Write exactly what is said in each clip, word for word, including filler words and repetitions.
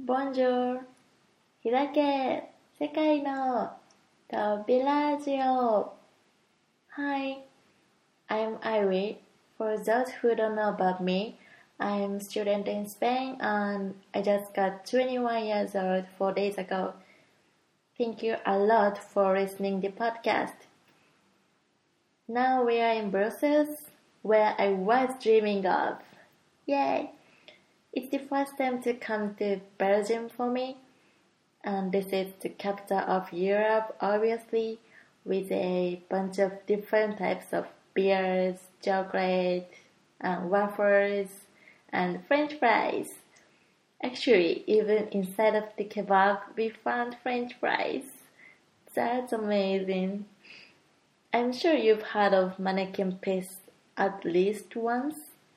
Bonjour! 開け世界の扉ラジオ Hi, I'm Irie. For those who don't know about me, I'm a student in Spain and I just got twenty-one years old four days ago. Thank you a lot for listening to the podcast. Now we are in Brussels, where I was dreaming of. Yay! It's the first time to come to Belgium for me, and this is the capital of Europe, obviously, with a bunch of different types of beers, chocolate, and waffles, and French fries. Actually, even inside of the kebab, we found French fries. That's amazing. I'm sure you've heard of mannequin piece at least once.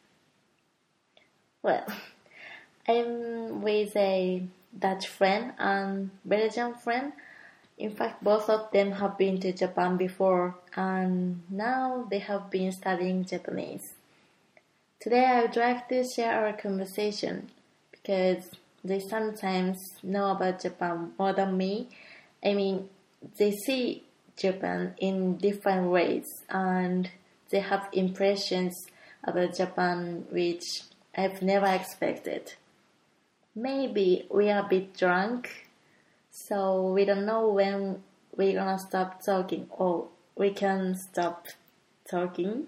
Well, I'm with a Dutch friend and Belgian friend. In fact, both of them have been to Japan before and now they have been studying Japanese. Today I would like to share our conversation because they sometimes know about Japan more than me. I mean, they see Japan in different ways and they have impressions about Japan which I've never expected. Maybe we are a bit drunk, so we don't know when we're gonna stop talking or we can stop talking.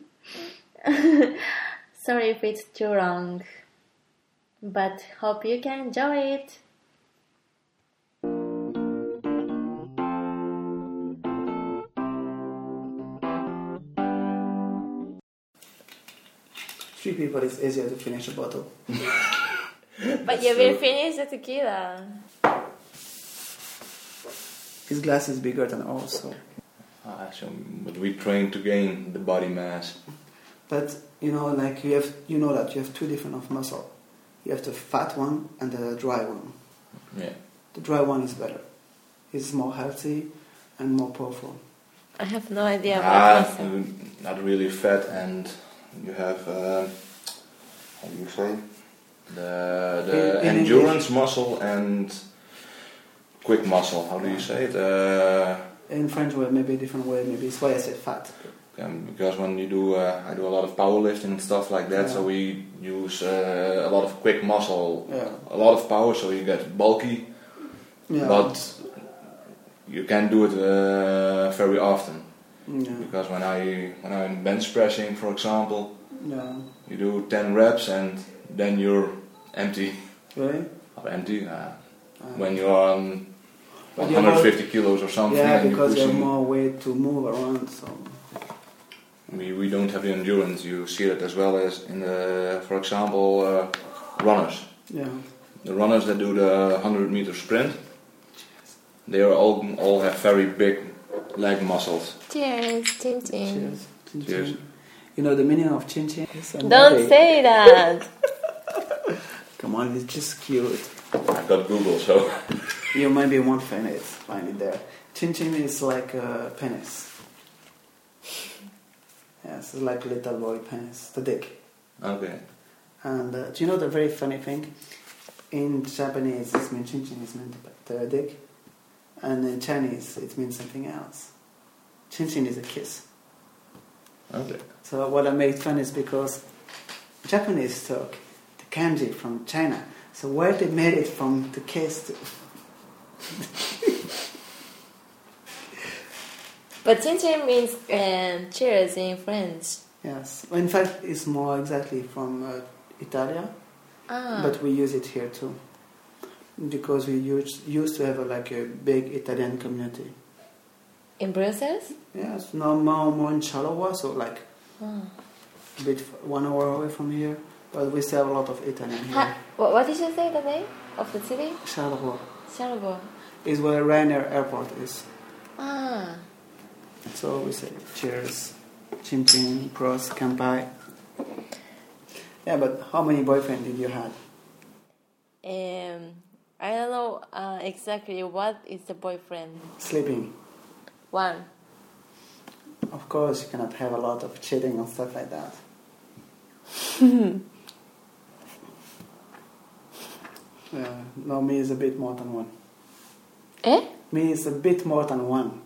Sorry if it's too long, but hope you can enjoy it. Three people is easier to finish a bottle. But you will finish the tequila. His glass is bigger than ours, so. Ah, so but we train to gain the body mass. But you know, like you have, you know that you have two different of muscle. You have the fat one and the dry one. Yeah. The dry one is better. It's more healthy and more powerful. I have no idea Ah, about muscle. not really fat, and you have uh, how do you say the the In- in endurance muscle and quick muscle. How do you say it? Uh, In French way, maybe a different way. Maybe it's why I said fat. um, because when you do, uh, I do a lot of powerlifting and stuff like that. Yeah. So we use uh, a lot of quick muscle, Yeah. a lot of power. So you get bulky, Yeah. but you can't do it uh, very often. Yeah. Because when I when I'm bench pressing, for example, Yeah. you do ten reps and then you're empty. Really? Or empty. Uh, Uh, when you're on But one you're hundred fifty more- kilos or something, Yeah, and because you you're have pushing. more weight to move around. So. We we don't have the endurance. You see that as well as in the, for example, uh, runners. Yeah. The runners that do the hundred meter sprint, they are all all have very big leg muscles. Cheers, chin chin. Cheers. Chin Cheers. chin. You know the meaning of chin chin? It's a Don't body. say that. Come on, it's just cute. I've got Google, so You maybe won't find it, find it there. Chin chin is like a penis. Yes, it's like a little boy penis, the dick. okay. And uh, do you know the very funny thing? In Japanese, it means chin chin is meant the dick, and in Chinese, it means something else. Chin chin is a kiss. Okay. So what I made fun is because Japanese took the kanji from China. So where they made it from the kiss to... But chin chin means um, cheers in French. Yes. In fact, it's more exactly from uh, Italia, Ah. but we use it here too. Because we used, used to have a, like a big Italian community. In Brussels? Yes, now more, more in Charleroi, so like Ah. a bit f- one hour away from here. But we still have a lot of Italian here. Ha- what, what did you say the name of the city? Charleroi Charleroi. is where Ryanair Airport is. Ah. So we say cheers, chin chin, cross, kanpai. Yeah, but how many boyfriends did you have? Um, I don't know uh, exactly what is the boyfriend. Sleeping. One. Of course, you cannot have a lot of cheating and stuff like that. Yeah, no, me is a bit more than one. Eh? Me is a bit more than one.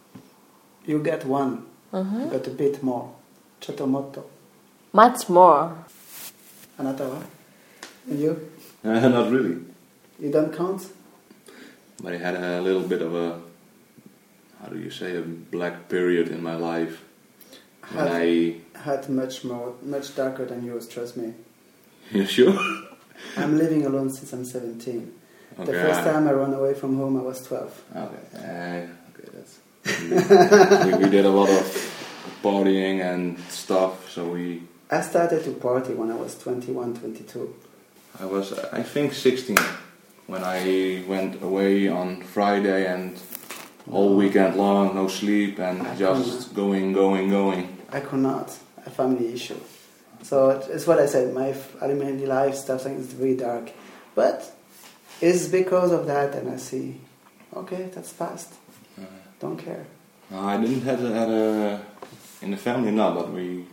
You get one, Mm-hmm. but a bit more. Chotomotto. Much more. Another one. And you? Uh, not really. You don't count? But I had a little bit of a, how do you say, a black period in my life. When Had, I... had much more, much darker than yours, trust me. You sure? I'm living alone since I'm seventeen. Okay. The first time I ran away from home, I was twelve. Okay, uh, okay, that's... we, we did a lot of partying and stuff, so we... I started to party when I was twenty-one, twenty-two. I was, I think, sixteen when I went away on Friday and all weekend long, no sleep and I just going, going, going. I could not. A family issue. So it's what I said. My elementary life stuff is very dark, but it's because of that, and I see, okay, that's past. Uh, Don't care. no, I didn't have a, had a in the family, not, but we.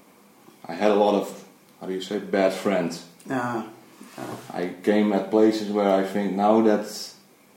I had a lot of, how do you say, bad friends. Ah, ah. I came at places where I think now that's.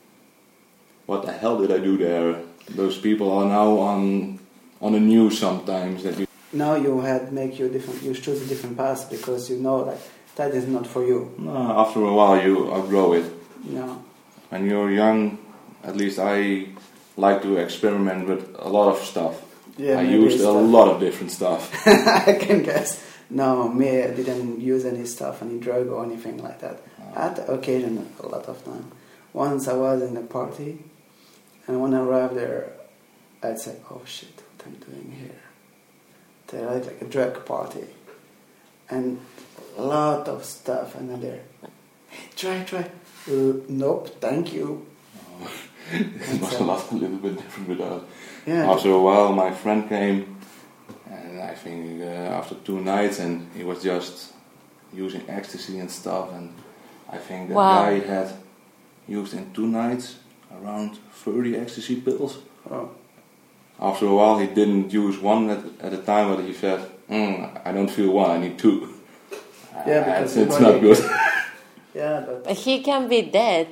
What the hell did I do there? Those people are now on on the news sometimes that you. Now you had make you different. You choose a different path because you know like that is not for you. No, after a while you outgrow it. No. When you're young, at least I like to experiment with a lot of stuff. Yeah, I maybe used a stuff. lot of different stuff. I can guess. No, me, I didn't use any stuff, any drug or anything like that. At the occasion, a lot of time. Once I was in a party, and when I arrived there, I'd say, "Oh shit, what I'm doing here?" They like like a drug party, and a lot of stuff, and I'm there. Hey, try, try. Uh, nope, thank you. It was a, lot, a little bit different with that. Yeah. After a while, my friend came, and I think uh, after two nights, and he was just using ecstasy and stuff, and I think that Wow. guy had used in two nights around thirty ecstasy pills. Oh. After a while, he didn't use one at, at a time, but he said, mm, I don't feel one, I need two. Yeah, Uh, because it's, it's the not body- good. Yeah, but But he can be dead.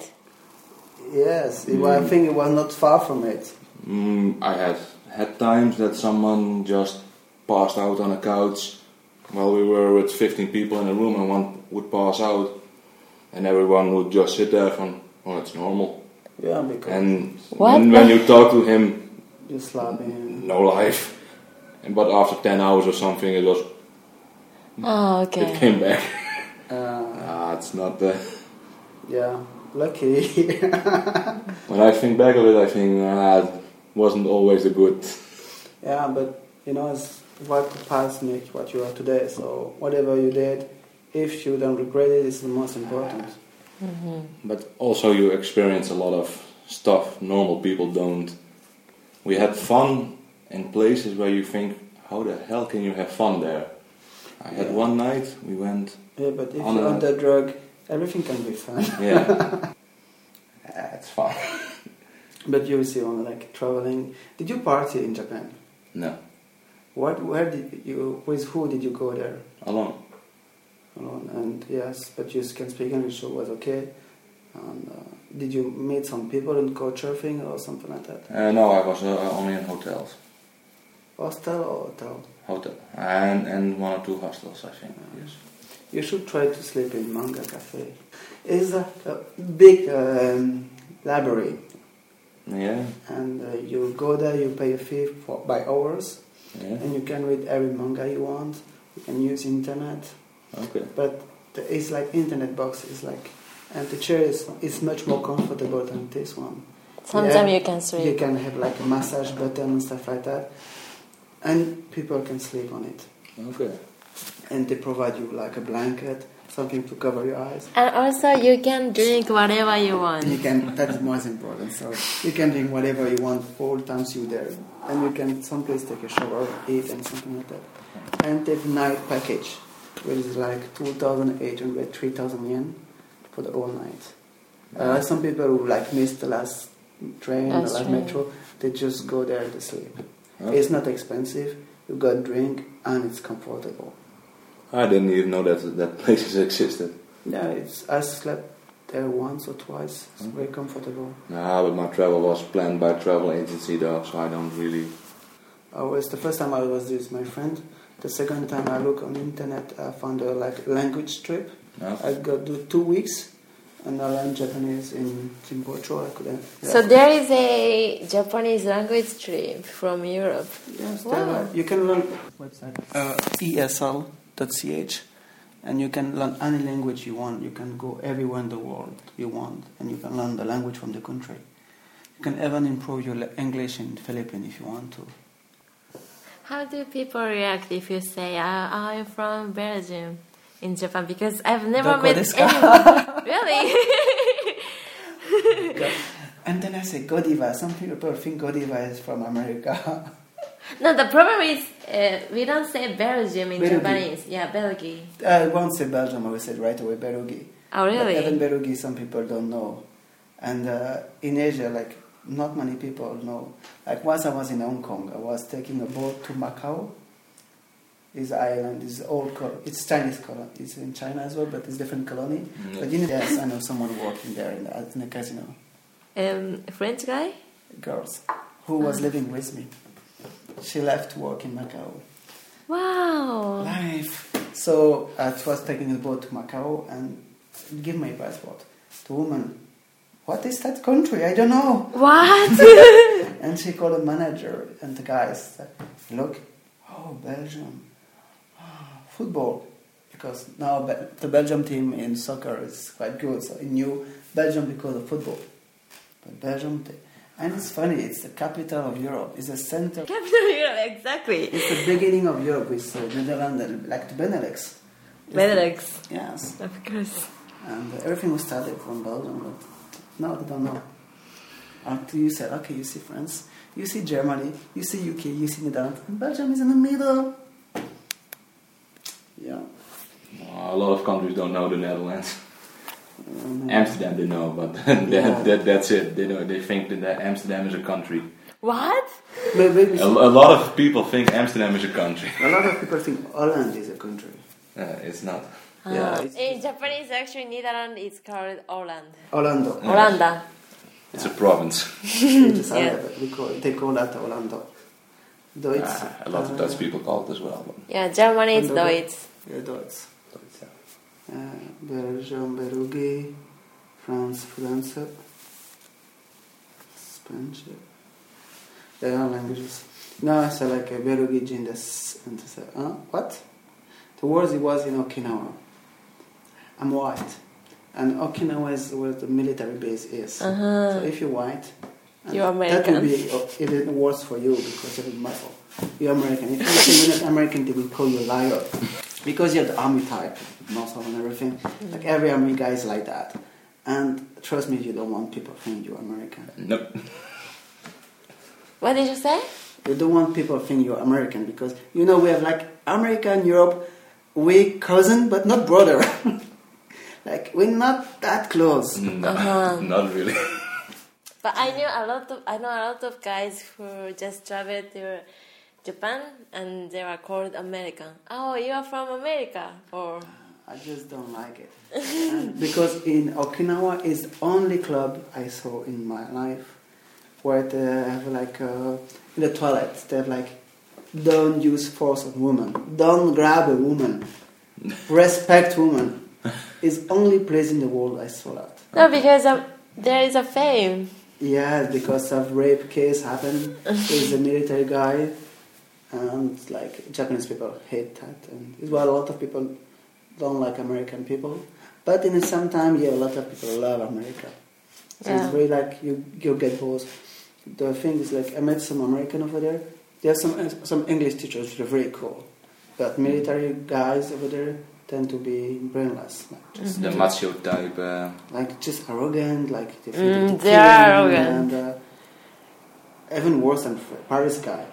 yes, it, I think it was not far from it. Mm, I had had times that someone just passed out on a couch while we were with fifteen people in a room, and one would pass out, and everyone would just sit there from, oh, it's normal. Yeah, because And What when, the- when you talk to him, you slap him. no life. And but after ten hours or something, it was Oh, it okay. came back. Uh, Ah, it's not the. yeah, lucky. When I think back of it, I think ah, it wasn't always a good. Yeah, but you know, it's what the past make what you are today. So whatever you did, if you don't regret it, it's the most important. Mm-hmm. But also, you experience a lot of stuff normal people don't. We had fun in places where you think, how the hell can you have fun there? I had Yeah. one night, we went, Yeah, but if On you're a- on the drug, everything can be fun. yeah, yeah it's fun. But you see, on like traveling, did you party in Japan? No, What? Where did you? With who did you go there? alone. Alone. And yes, but you can speak English, so it was okay. And uh, did you meet some people and go surfing or something like that? Uh, no, I was uh, only in hotels. Hostel or hotel? Hotel. And, and one or two hostels, I think, yes. You should try to sleep in Manga Cafe. It's a, a big um, library, Yeah, and uh, you go there, you pay a fee for by hours, yeah, and you can read every manga you want. You can use internet, okay. but the, it's like internet box is like, and the chair is, is much more comfortable than this one. Sometimes Yeah, you can sleep. You can have like a massage button and stuff like that, and people can sleep on it. Okay. And they provide you like a blanket, something to cover your eyes. And also you can drink whatever you want. You can, that is most important. So you can drink whatever you want all the times you're there. And you can someplace take a shower, eat and something like that. And take night package, which is like two thousand eight hundred, three thousand yen for the whole night. Uh, some people who like missed the last train, Last the last train. metro, they just go there to sleep. Okay. It's not expensive, you got drink and it's comfortable. I didn't even know that that places existed. Yeah, it's I slept there once or twice. It's Mm. very comfortable. No, but my travel was planned by travel agency though, so I don't really. I was the first time I was with my friend. The second time I look on the internet, I found a like language trip. No? I got do two weeks, and I learned Japanese in Chimbocho. I couldn't. Yeah. So there is a Japanese language trip from Europe. Yes, Wow. there are- you can learn website uh, E S L dot C H, and you can learn any language you want. You can go everywhere in the world you want, and you can learn the language from the country. You can even improve your le- English in Philippines if you want to. How do people react if you say, uh, I'm from Belgium in Japan? Because I've never Doko met desu ka? anyone. Really? And then I say Godiva. Some people think Godiva is from America. No, the problem is uh, we don't say Belgium in Berugi. Japanese. Yeah, Belgium. I won't say Belgium. I will say right away Berugi. Oh, really? But even Berugi, some people don't know. And uh, in Asia, like, not many people know. Like, once I was in Hong Kong, I was taking a boat to Macau. This island is old, col- it's Chinese colony. It's in China as well, but it's different colony. Mm. But you know, yes, I know someone working there in the, in the casino. Um, French guy? Girls who was living with me. She left work in Macau. Wow. Life. So I was taking a boat to Macau and give my passport. The woman, what is that country? I don't know. What? And she called the manager and the guys said, look, oh, Belgium, oh, football. Because now Be- the Belgium team in soccer is quite good. So he knew Belgium because of football. But Belgium, t- and it's funny, it's the capital of Europe. It's the center. Capital Europe, exactly. It's the beginning of Europe with uh, Netherlands, and like the Benelux. Benelux. Yes. Of course. And uh, everything was started from Belgium, but no, they don't know. Until you said, okay, you see France, you see Germany, you see U K, you see Netherlands, and Belgium is in the middle. Yeah. A lot of countries don't know the Netherlands. Um, Amsterdam they know, but that, Yeah. that that's it. They know they think that Amsterdam is a country. What? but maybe A, a lot of people think Amsterdam is a country. a lot of people think Holland is a country. Uh, it's not. Yeah, Uh, it's- in Japanese, actually, Netherlands is called Holland. Orlando. Holanda. It's a province. It's a Yeah. we call, they call that Orlando. Though it's, Ah, a lot of Dutch people call it as well. But Yeah, Germany is Andorra. Deutsch. Yeah, Deutsch. but it's, uh, Uh, Belgium, Berugi, France, France, Spanish. There are languages. No, I say like a Berugi Jindas and I say, huh? What? The words it was in Okinawa. I'm white. And Okinawa is where the military base is. Uh-huh. So if you're white, and You're that will American. be uh, even worse for you because it will matter. You're American. If you say you're not American, they will call you a liar. Because you're the army type, muscle and everything. Like every army guy is like that. And trust me, you don't want people think you're American. nope. What did you say? You don't want people think you're American because, you know, we have like America and Europe, we cousin but not brother. Like, we're not that close. No, Uh-huh. not really. But I knew a lot of I know a lot of guys who just traveled to Japan and they were called American. Oh, you are from America, or I just don't like it. And because in Okinawa is the only club I saw in my life where they have like uh, in the toilet they have like don't use force on women, don't grab a woman, respect women. It's only place in the world I saw that. no, because of, there is a fame. Yeah, because of rape case happened. There's a military guy, and like Japanese people hate that, and it's why a lot of people don't like American people. But in the same time, yeah, a lot of people love America. So Yeah. it's very like you you get both. The thing is like I met some American over there. There are some some English teachers which are very cool, but military guys over there tend to be brainless, like just The macho type. Uh, like just arrogant, like they, Mm, think they they are kill, arrogant. and uh, even worse than Paris guy.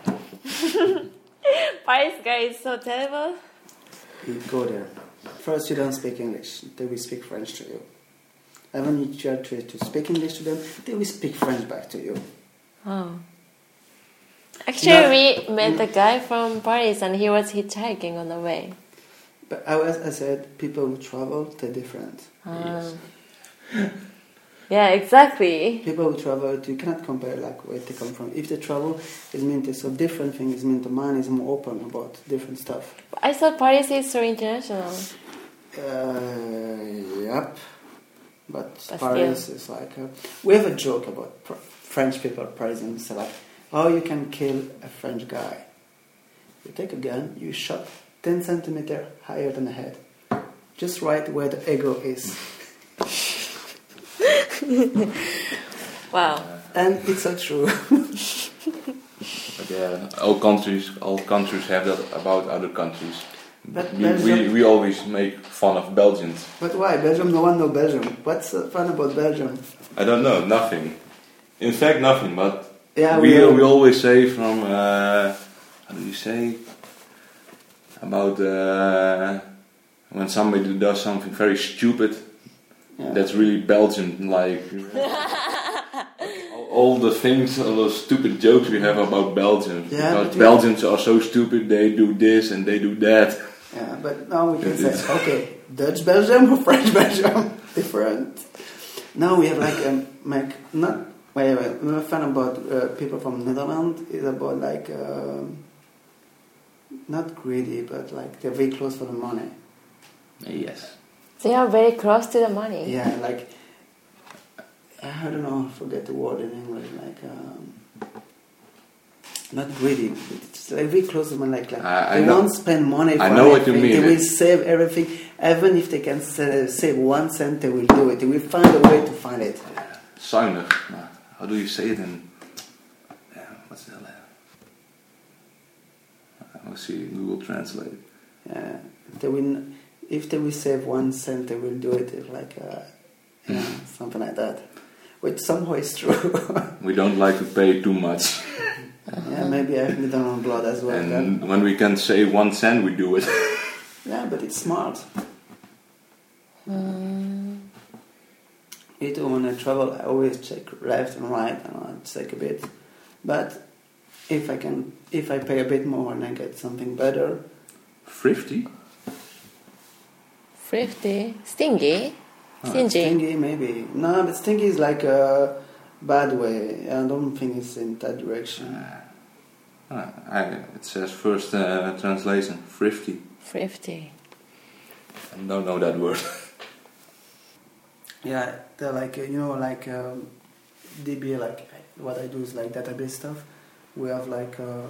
Paris guy is so terrible. You go there. First, you don't speak English; they will speak French to you. And when you try to, to speak English to them, they will speak French back to you. Oh. Actually, No. we met a guy from Paris and he was hitchhiking on the way. But I, was, I said, people who travel, they're different. Ah. Yes. Yeah, exactly. People who travel, you cannot compare like where they come from. If they travel, it means it's a different thing. It means the mind is more open about different stuff. I thought Paris is so international. Uh, yep. But, But Paris still. is like... A, we have a joke about pr- French people, Parisians, say like, how you can kill a French guy. You take a gun, you shot ten centimeters higher than the head. Just right where the ego is. Wow. And it's so true. But yeah, all countries, all countries have that about other countries. But We, Belgium- we, we always make fun of Belgians. But why? Belgium, no one knows Belgium. What's uh, fun about Belgium? I don't know, nothing. In fact, nothing. But Yeah, we we- we always say from uh, how do you say about uh, when somebody does something very stupid. Yeah. That's really Belgian, like all- all the things, all the stupid jokes we have about Belgians. Yeah, because but we- Belgians are so stupid, they do this and they do that. Yeah, but now we can It say, is. okay, Dutch Belgium or French Belgium, different. Now we have like, um, like not, wait, wait, I'm a fan about uh, people from Netherlands, is about like, um, not greedy, but like they're very close for the money. Yes. They are very close to the money. Yeah, like, I don't know, I forget the word in English, like, um, not greedy, but it's like very close to money, like, like I- I they know- won't spend money for I know what you anything. mean. They will save everything, even if they can sa- save one cent, they will do it. They will find a way to find it. Zuinig. Nou, how do you say it in? Yeah, what's that? I'll see Google Translate. Yeah, they will, if they will save one cent, they will do it, if like, uh, yeah, something like that. Which somehow is true. We don't like to pay too much. Yeah, maybe I have Netherlands blood as well. And then. when we can save one cent, we do it. Yeah, but it's smart. Me too, when I travel, I always check left and right, and I check a bit. But if I can, if I pay a bit more and I get something better, Thrifty? Thrifty. Stingy. uh, Stingy. stingy maybe. No, but stingy is like a bad way. I don't think it's in that direction. Ah, I, it says first uh, translation, thrifty. Thrifty. I don't know that word. Yeah, they're like, uh, you know, like um, D B, like what I do is like database stuff. We have like, uh,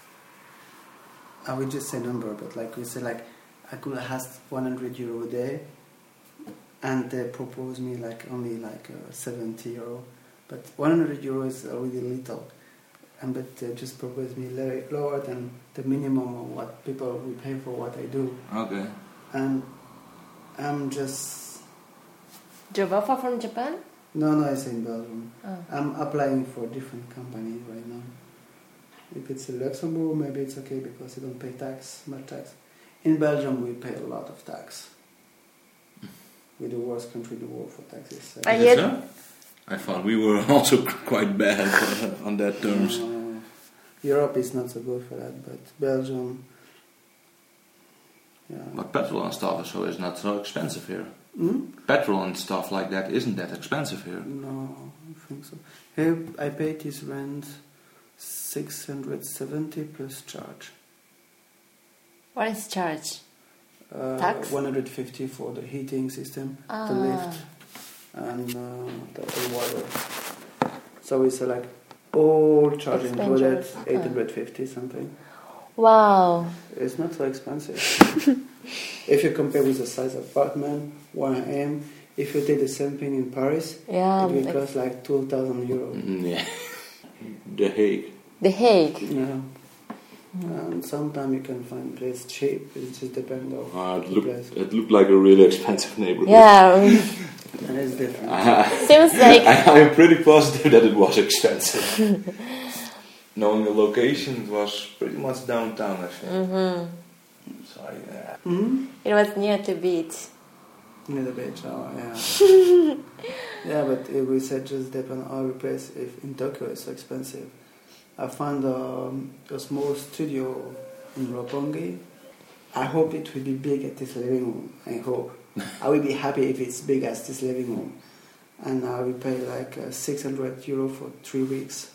I would just say number, but like we say like, I could ask one hundred euro a day, and they propose me like only like uh, seventy euro, but one hundred euro is already little, and but they just propose me low- lower than the minimum of what people will pay for what I do, Okay. and I'm just. Job offer from Japan? No, no, it's in Belgium. Oh. I'm applying for different companies right now. If it's in Luxembourg, maybe it's okay because you don't pay tax, much tax. In Belgium, we pay a lot of tax. We're the worst country in the world for taxes. So. I Is yet- it so? I thought we were also quite bad uh, on that terms. Uh, Europe is not so good for that, but Belgium, yeah. But petrol and stuff so is not so expensive here. Hmm? Petrol and stuff like that isn't that expensive here. No, I think so. Here, I paid this rent six hundred seventy plus charge. What is charge? Uh, Tax? one hundred fifty for the heating system, Ah. the lift, and uh, the, the water. So it's uh, like all charge included, Expenditures. eight hundred fifty something. Wow. It's not so expensive. If you compare with the size of apartment where I am, if you take the same thing in Paris, Yeah. it will like cost like two thousand euros. Mm, yeah. The Hague. The Hague. Yeah. And sometimes you can find place cheap. It just depends on Uh, it, the looked, place. it looked like a really expensive neighborhood. Yeah. And it's different. Seems like I, I'm pretty positive that it was expensive. Knowing the location, it was pretty much downtown, I think. mhm. So, yeah. Hmm? It was near the beach. Near the beach, oh yeah. Yeah, but it we said just depend on every place. If in Tokyo it's so expensive. I found um, a small studio in Roppongi. I hope it will be big at this living room. I hope. I will be happy if it's big as this living room. and now we pay like uh, six hundred euro for three weeks.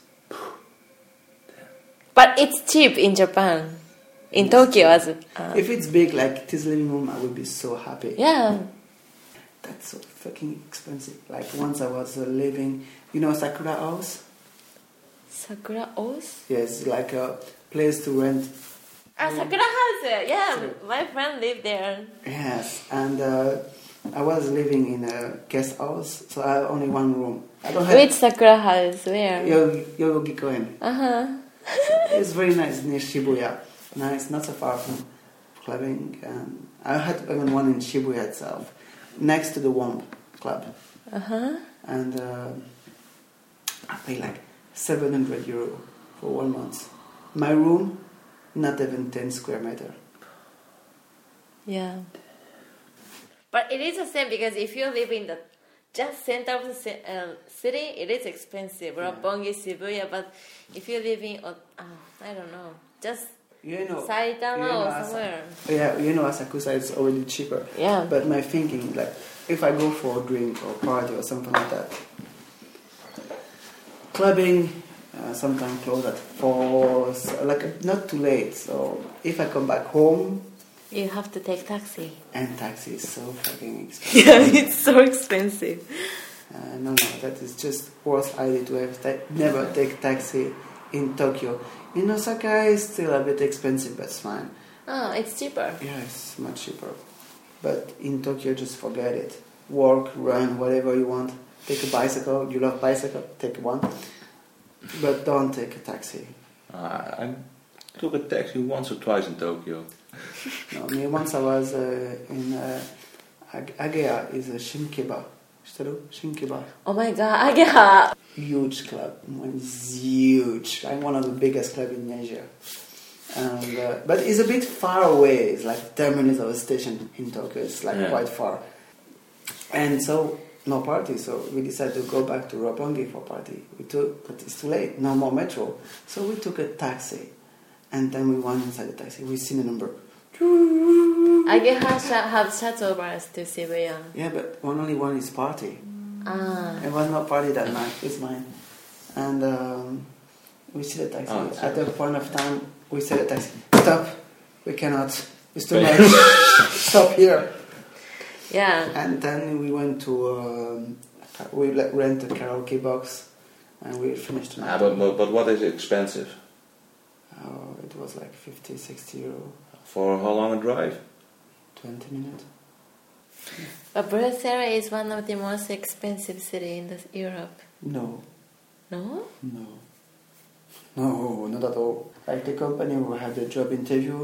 But it's cheap in Japan. In Yes. Tokyo, as it, uh, If it's big like this living room, I would be so happy. yeah. That's so fucking expensive. Like once I was uh, living, you know, Sakura House. Sakura House? Yes, like a place to rent. Ah, Sakura House. Yeah, Sorry. my friend lived there. Yes, and uh, I was living in a guest house, so I have only one room. I don't have. Which Sakura House? Where? Yo- Yoyogi-koen. Uh huh. It's very nice near Shibuya. Nice, not so far from clubbing. And I had even one in Shibuya itself, next to the Womb Club. Uh huh. And uh, I pay like seven hundred euro for one month. My room, not even ten square meter. Yeah. But it is the same because if you live in the just center of the ci- uh, city, it is expensive. Yeah. Roppongi, Shibuya. But if you live in, uh, I don't know, just You know, Saitama you know, or Asa- somewhere. Yeah, you know, Asakusa is already cheaper. Yeah. But my thinking, like, if I go for a drink or party or something like that, clubbing uh, sometimes close at four, so, like not too late. So if I come back home, You have to take taxi. and taxi is so fucking expensive. Yeah, it's so expensive. Uh, no, no, that is just worst idea to have ta- never take taxi in Tokyo. In Osaka, it's still a bit expensive, but it's fine. Oh, it's cheaper. Yeah, it's much cheaper. But in Tokyo, just forget it. Walk, run, whatever you want. Take a bicycle. You love bicycle, take one. But don't take a taxi. Uh, I took a taxi once or twice in Tokyo. No, me once I was uh, in uh, Ag- Agea, is a Shinkiba. Shiteru? Shinkiba. Oh my god, yeah. Huge club. It's huge. I'm one of the biggest club in Asia. And, uh, but it's a bit far away. It's like ten minutes of a station in Tokyo. It's like Yeah. quite far. And so, no party. So we decided to go back to Roppongi for party. We took, but it's too late. No more metro. So we took a taxi. And then we went inside the taxi. We seen the number. Ageha sh- have shuttle bus to Shibuya. Yeah, but one only one is party. Ah. It was not party that night. It's mine. And um, we see the taxi. Oh, it's At yours. the point of time, we said the taxi, stop. We cannot. It's too much. Stop here. Yeah. And then we went to, um, we like, rent a karaoke box and we finished the Ah, night. but, but, but what is expensive? Oh, it was like fifty, sixty euro, For how long a drive? twenty minutes. But Brussels is one of the most expensive city in this Europe. No, No? no, no, not at all. Like the company who had the job interview,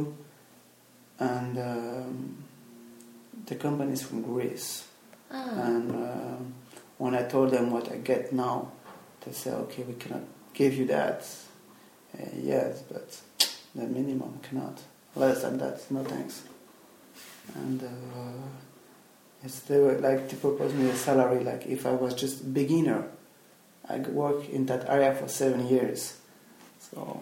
and um, the company is from Greece. Ah. And um, when I told them what I get now, they said, okay, we cannot give you that. Uh, yes, but the minimum cannot. Less than that, no thanks. And uh, yes, they were like to propose me a salary like if I was just beginner. I work in that area for seven years. So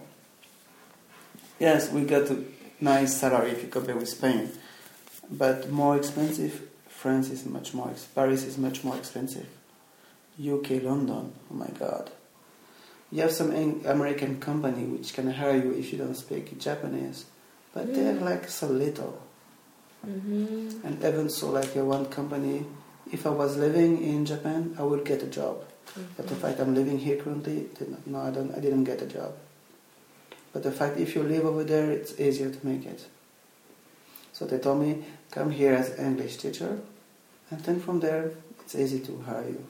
yes, we got a nice salary if you compare with Spain, but more expensive. France is much more. Ex- Paris is much more expensive. U K, London. Oh my God. You have some Eng- American company which can hire you if you don't speak Japanese, but they're like so little. Mm-hmm. And even so, like uh, one company, if I was living in Japan, I would get a job. But the fact I'm living here currently, then no, I don't. I didn't get a job. But the fact if you live over there, it's easier to make it. So they told me, come here as an English teacher, and then from there, it's easy to hire you.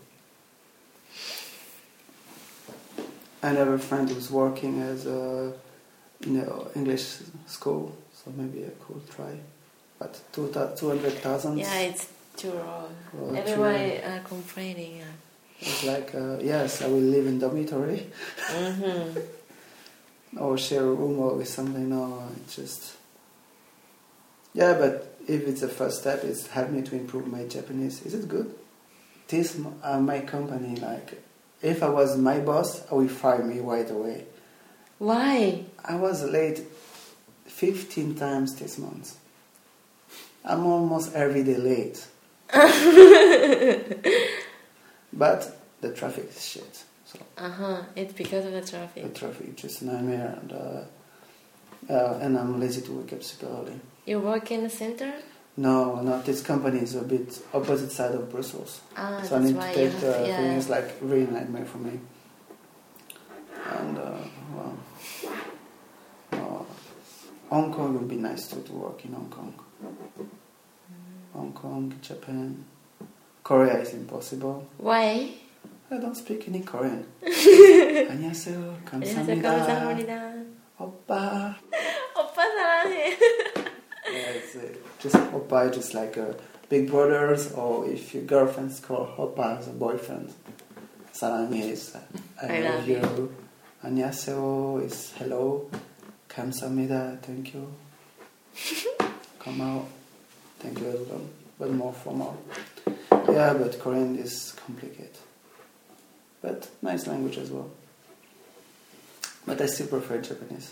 I have a friend who's working as a in an English school, so maybe I could try. But two two hundred thousand. Yeah, it's too raw. Well, Everybody are complaining. Yeah. It's like uh, yes, I will live in dormitory Mm-hmm. or share a room or with something. No, it's just yeah. But if it's the first step, it's helped me to improve my Japanese. Is it good? This uh, my company. Like, if I was my boss, I would fire me right away. Why? I was late fifteen times this month. I'm almost every day late. but the traffic is shit. So Uh huh. It's because of the the traffic. traffic is just a nightmare, and uh, uh, and I'm lazy to wake up super early. You work in the center? No, not this company is a bit opposite side of Brussels. Ah, So I that's need why to you take have the to, yeah. thing. It's like really nightmare for me. And uh, well, uh, Hong Kong would be nice too to work in Hong Kong. Mm. Hong Kong, Japan, Korea is impossible. Why? I don't speak any Korean. 안녕하세요, 안녕하세요, 감사합니다, 감사합니다. oppa. 오빠 사랑해. Yeah, it's uh, just oppa, just like uh, big brothers, or if your girlfriend's called oppa as a boyfriend. 사랑해 is uh, I, I love, love you. you. 안녕하세요 is hello. 감사합니다, thank you. Come out, thank you as well, but more formal. Yeah, but Korean is complicated. But nice language as well. But I still prefer Japanese.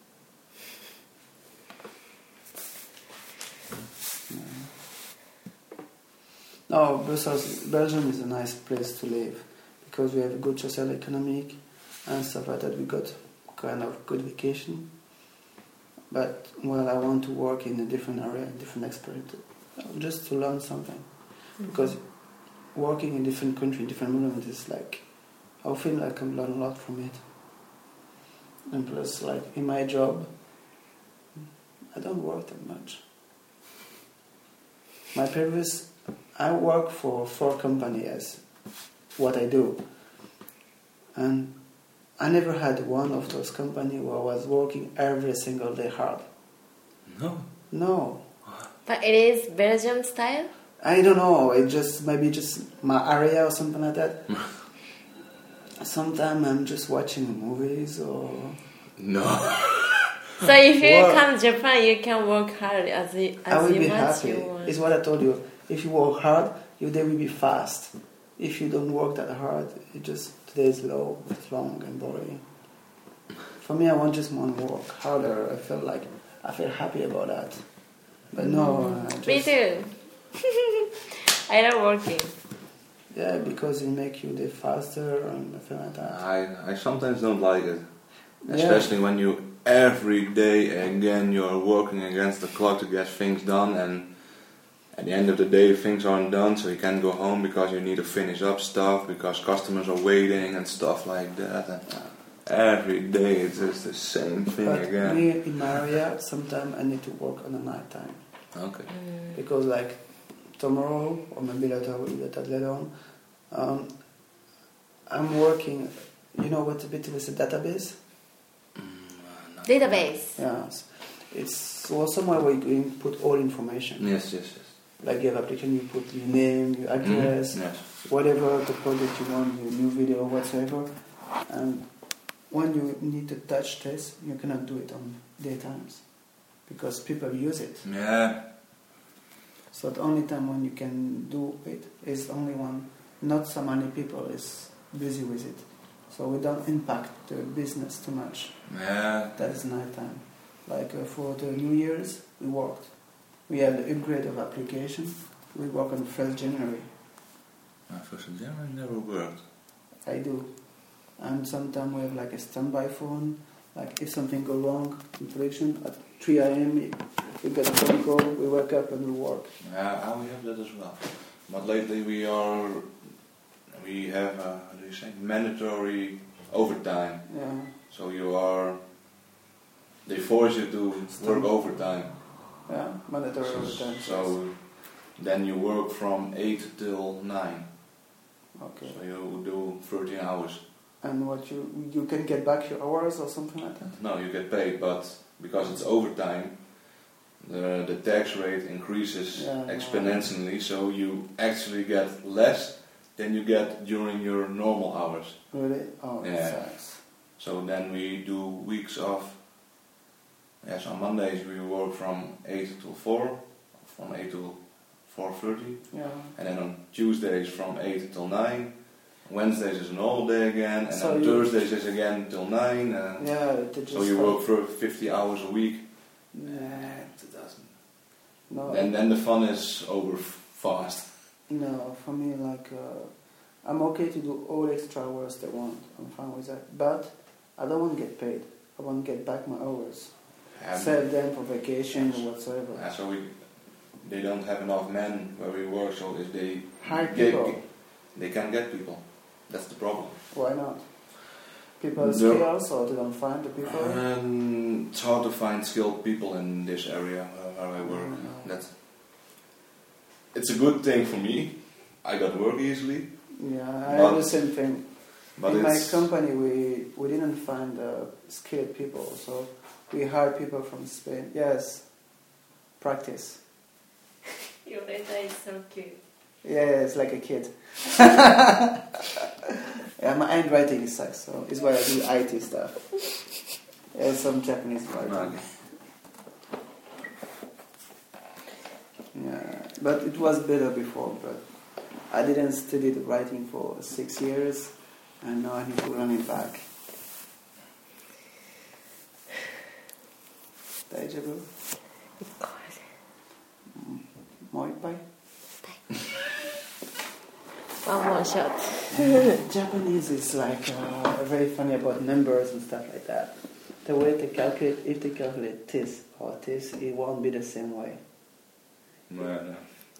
No, Brussels, Belgium is a nice place to live because we have a good social economic and stuff like that. We got kind of good vacation. But well, I want to work in a different area, different experience, just to learn something. Mm-hmm. Because working in different country, different movement is like, I feel like I can learn a lot from it. And plus, like in my job, I don't work that much. My previous, I work for four companies as what I do. And I never had one of those companies where I was working every single day hard. No. No. But it is Belgium style? I don't know. It just maybe just my area or something like that. Sometimes I'm just watching movies or. No. So if you Well, come to Japan, you can work hard as you, I as will you be much happy. you want. It's what I told you. If you work hard, your day will be fast. If you don't work that hard, it just today is low, it's long and boring. For me, I want just want to work harder. I feel like I feel happy about that. But no, I just, Me too. I love working. yeah, because it makes you day faster and I feel like that. I, I sometimes don't like it. Yeah. Especially when you every day again you're working against the clock to get things done, and at the end of the day things aren't done, so you can't go home because you need to finish up stuff because customers are waiting and stuff like that. And every day it's just the same thing But again. me in my area, sometimes I need to work on the night time. Okay. Mm. Because like tomorrow or maybe later we'll get that later on, um, I'm working, you know what it is, a database? Database. Yes. It's well, somewhere where you can put all information. Yes, yes, yes. Like you have application, you put your name, your address, Mhm. Yes. whatever the product you want, your new video, whatsoever. And when you need to touch this, you cannot do it on daytimes because people use it. Yeah. So the only time when you can do it is only when not so many people is busy with it. So we don't impact the business too much. Yeah. That is night time. Like uh, for the New Year's, we worked. We had the upgrade of application. We work on first January. Uh, first of January never worked. I do. And sometimes we have like a standby phone. Like if something go wrong in production at three a.m. we get a phone call, we wake up and we work. Yeah, we have that as well. But lately we are, we have, uh, how do you say, mandatory overtime. Yeah. So you are, they force you to work overtime. Yeah, mandatory So, overtime. so then you work from eight till nine. Okay. So you do thirteen hours. And what you you can get back your hours or something like that? No, you get paid, but because it's overtime, the the tax rate increases Yeah, yeah. exponentially. So you actually get less than you get during your normal hours. Really? Oh, Yeah. that sucks. So then we do weeks of. Yes, on Mondays we work from eight till four, from eight till four thirty, Yeah. and then on Tuesdays from eight till nine. Wednesdays is a normal day again, and So on you- Thursdays is again till nine. And Yeah. They just so you like- work for fifty hours a week. Nah, It doesn't. no. Then then the fun is over f- fast. No, for me, like, uh, I'm okay to do all extra hours they want. I'm fine with that. But I don't want to get paid. I want to get back my hours. And Save them for vacation or whatsoever. uh, so we, they don't have enough men where we work, so if they Hire get, people. they can get people. That's the problem. Why not? People No. skills or they don't find the people? Um, it's hard to find skilled people in this area uh, where I work. Mm. That's it's a good thing for me. I got work easily, Yeah, I But- have the same thing. but In my it's company, we, we didn't find uh, skilled people, so we hired people from Spain. Yes, practice. Your data is so cute. Yeah, it's like a kid. Yeah, my handwriting sucks, so it's why I do I T stuff. Yeah, some Japanese writing. Yeah, but it was better before. But I didn't study the writing for six years, and now I need to learn it back. Daijabu? Mo ippai? One more shot. Japanese is like uh, very funny about numbers and stuff like that. The way they calculate, if they calculate this or this, it won't be the same way. No, no.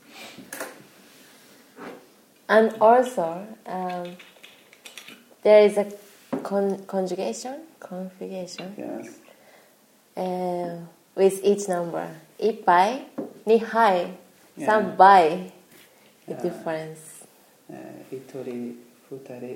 And also, um, there is a con- conjugation, configuration Yes. uh, with each number. Ippai, nihai, Yeah. sambai. The Yeah. difference. Uh, hitori, futari.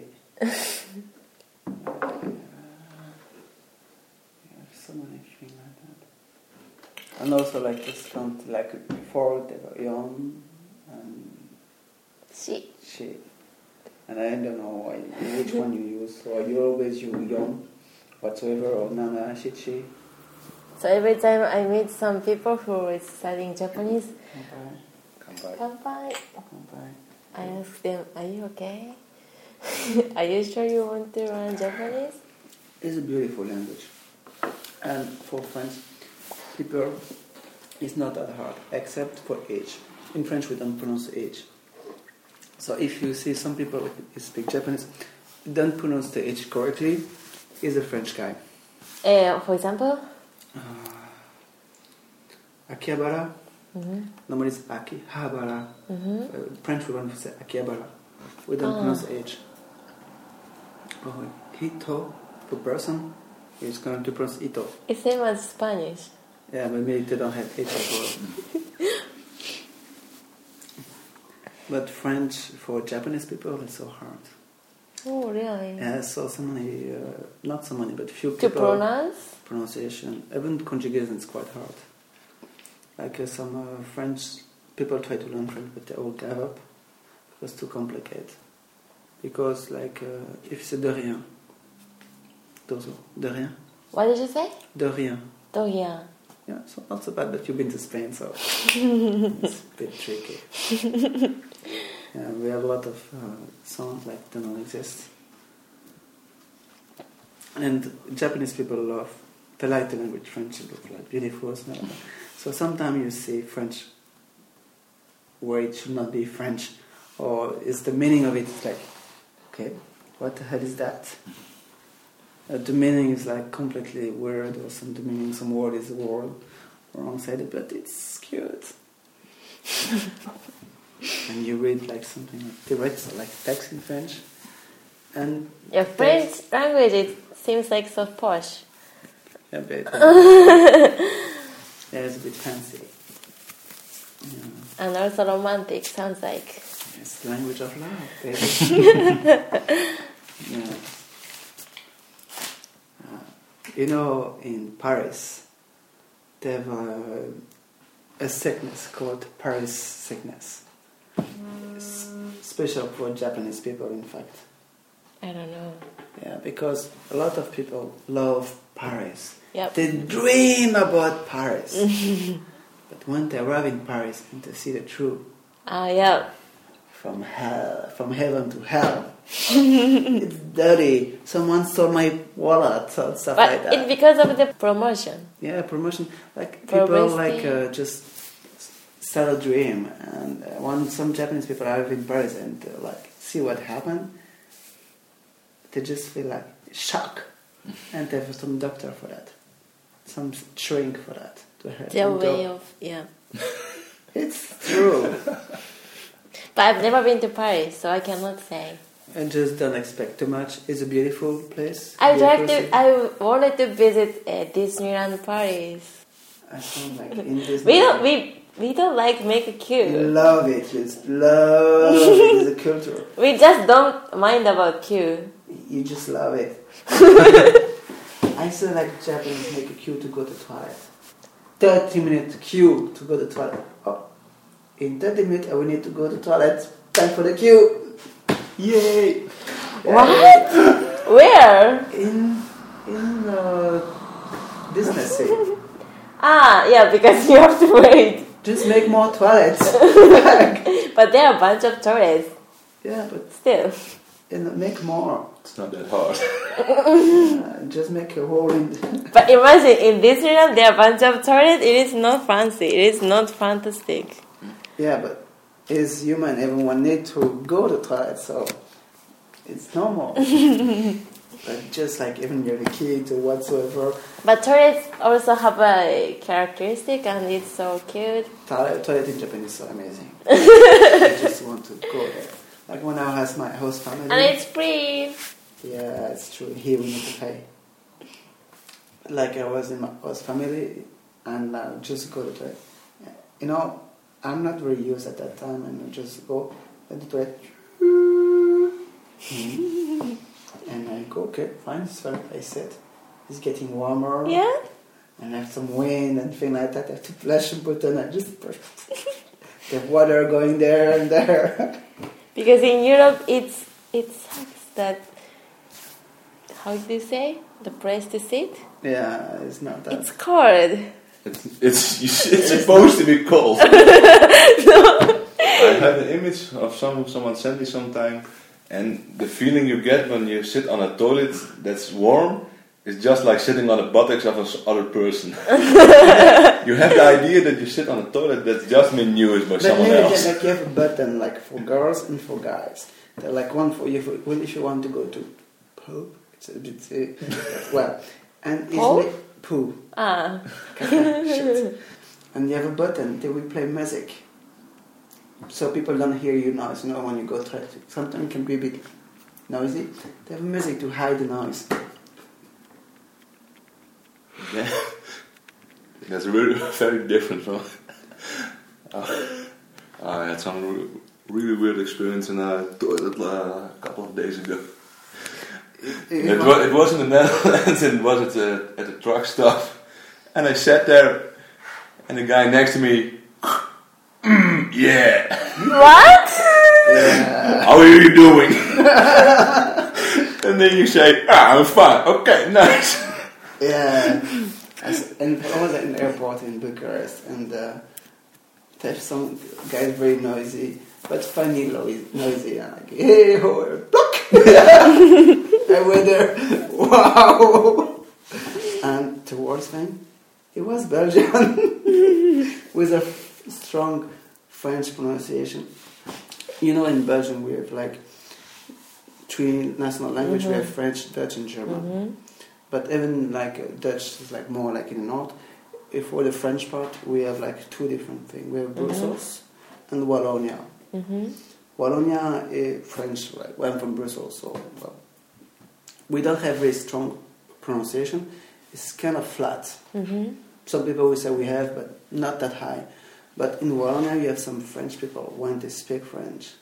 So many things like that. And also like this count, like before they were young and Shi. she. And I don't know why, which one you use. So you always use yon whatsoever or nana, shichi. So every time I meet some people who is studying Japanese, Kanpai, Come back. kanpai, kanpai. I ask them, are you okay? Are you sure you want to learn Japanese? It's a beautiful language. And for French people, it's not that hard, except for H. In French, we don't pronounce H. So if you see some people who speak Japanese, don't pronounce the H correctly, he's a French guy. Uh, for example? Uh, Akihabara, Mm-hmm. normally it's Akihabara. Mm-hmm. Uh, French we want to say Akihabara. We don't Ah. pronounce H. Oh, Hito, for person, is going to pronounce Ito. It's same as Spanish. Yeah, but maybe they don't have H as well. But French for Japanese people is so hard. Oh, really? Yeah, so so many, uh, not so many, but few To people. pronounce? Pronunciation, even conjugation is quite hard. Like uh, some uh, French people try to learn French, but they all gave up because it's too complicated. Because like uh, if you say de rien, dozo, de rien, What did you say? de rien. Doya. Yeah, so not so bad, but you've been to Spain, so it's a bit tricky. Yeah, we have a lot of uh, sounds like they don't exist. And Japanese people love, they like the language French, it looks like beautiful. So, so sometimes you say French where it should not be French, or is the meaning of it is like, okay, what the hell is that? Uh, the meaning is like completely weird, or some the meaning, some word is a word wrong sided, but it's cute. And you read like something like they write like text in French, and Your French language, it seems like so posh. yeah, but, uh, yeah, it's a bit fancy. Yeah. And also romantic, sounds like. It's the language of love, baby. Yeah. Uh, you know, in Paris, they have a, a sickness called Paris sickness. It's special for Japanese people, in fact. I don't know. Yeah, because a lot of people love Paris. Yep. They dream about Paris. But when they arrive in Paris and they see the truth, Ah, yeah. from hell, from heaven to hell, it's dirty. Someone stole my wallet or stuff But like that. it's because of the promotion. Yeah, promotion. Like people Publicity. like uh, just sell a dream, and uh, one some Japanese people arrive in Paris and they're like see what happened, they just feel like shock, and they have some doctor for that, some shrink for that to help Their them way go. of, yeah. It's true. But I've never been to Paris, so I cannot say. And just don't expect too much. It's a beautiful place. I beautiful tried city. to. I wanted to visit uh, Disneyland Paris. I sound like in this. We don't. We we don't like make a queue. Love it. Just love it. It's a culture. We just don't mind about queue. You just love it. I still like Japanese make a queue to go to toilet. thirty minute queue to go to toilet. Oh, in thirty minutes I will need to go to toilet. Time for the queue. Yay! What? Where? In in uh, Disney Sea. Ah, yeah, because you have to wait. Just make more toilets. But there are a bunch of tourists Yeah, but still. you know, make more. It's not that hard. Uh, just make a hole in. But imagine in Disneyland there are a bunch of tourists. It is not fancy. It is not fantastic. Yeah, but it's human. Everyone need to go to toilet, so it's normal. But just like even you're a kid or whatsoever, But tourists also have a characteristic, and it's so cute. toilet, toilet in Japan is so amazing. I just want to go there. Like when I was my host family. And it's free. Yeah, it's true. Here we need to pay. Like I was in my host family, and uh, just go to the toilet. You know, I'm not very used at that time, and I just go at the toilet. Mm. And I go, okay, fine, so I sit. It's getting warmer. Yeah. And I have some wind and things like that. I have to flash a button. I just push. There's water going there and there. Because in Europe, it's it sucks that. How do you say the place to sit? Yeah, it's not that. It's cold. It's, it's, it's supposed to be cold. I had an image of some someone sent me sometime, and the feeling you get when you sit on a toilet that's warm is just like sitting on the buttocks of another person. You have the idea that you sit on a toilet that's just been used by But someone maybe else. like you have a button like for girls and for guys. They're like one for you for, well, if you want to go to poo. It's a bit uh, well, and it's Poo? ma- poo. Ah. Shit. And you have a button. They will play music, so people don't hear you noise. You know when you go to it, sometimes it can be a bit noisy. They have music to hide the noise. Yeah. That's really very different from. uh, I had some re- really weird experience in a toilet uh, a couple of days ago. It, was, it was in the Netherlands, and it was at the, at the truck stop. And I sat there, and the guy next to me, mm, yeah. What? Yeah. How are you doing? And then you say, ah, I'm fine. Okay, nice. Yeah. As- and I was at an airport in Bucharest, and uh, there's some guys very noisy, but funny noisy. noisy. I'm like, hey, ho, block! I went there, wow! And the worst thing, it was Belgian, with a f- strong French pronunciation. You know, in Belgium we have like three national languages. Mm-hmm. We have French, Dutch, and German. Mm-hmm. But even like uh, Dutch is like more like in the north. If for the French part, we have like two different things. We have Brussels and Wallonia. Mm-hmm. Wallonia is French, right? Well, I'm from Brussels, so well, we don't have very strong pronunciation. It's kind of flat. Mm-hmm. Some people will say we have, but not that high. But in Wallonia, you have some French people when they speak French.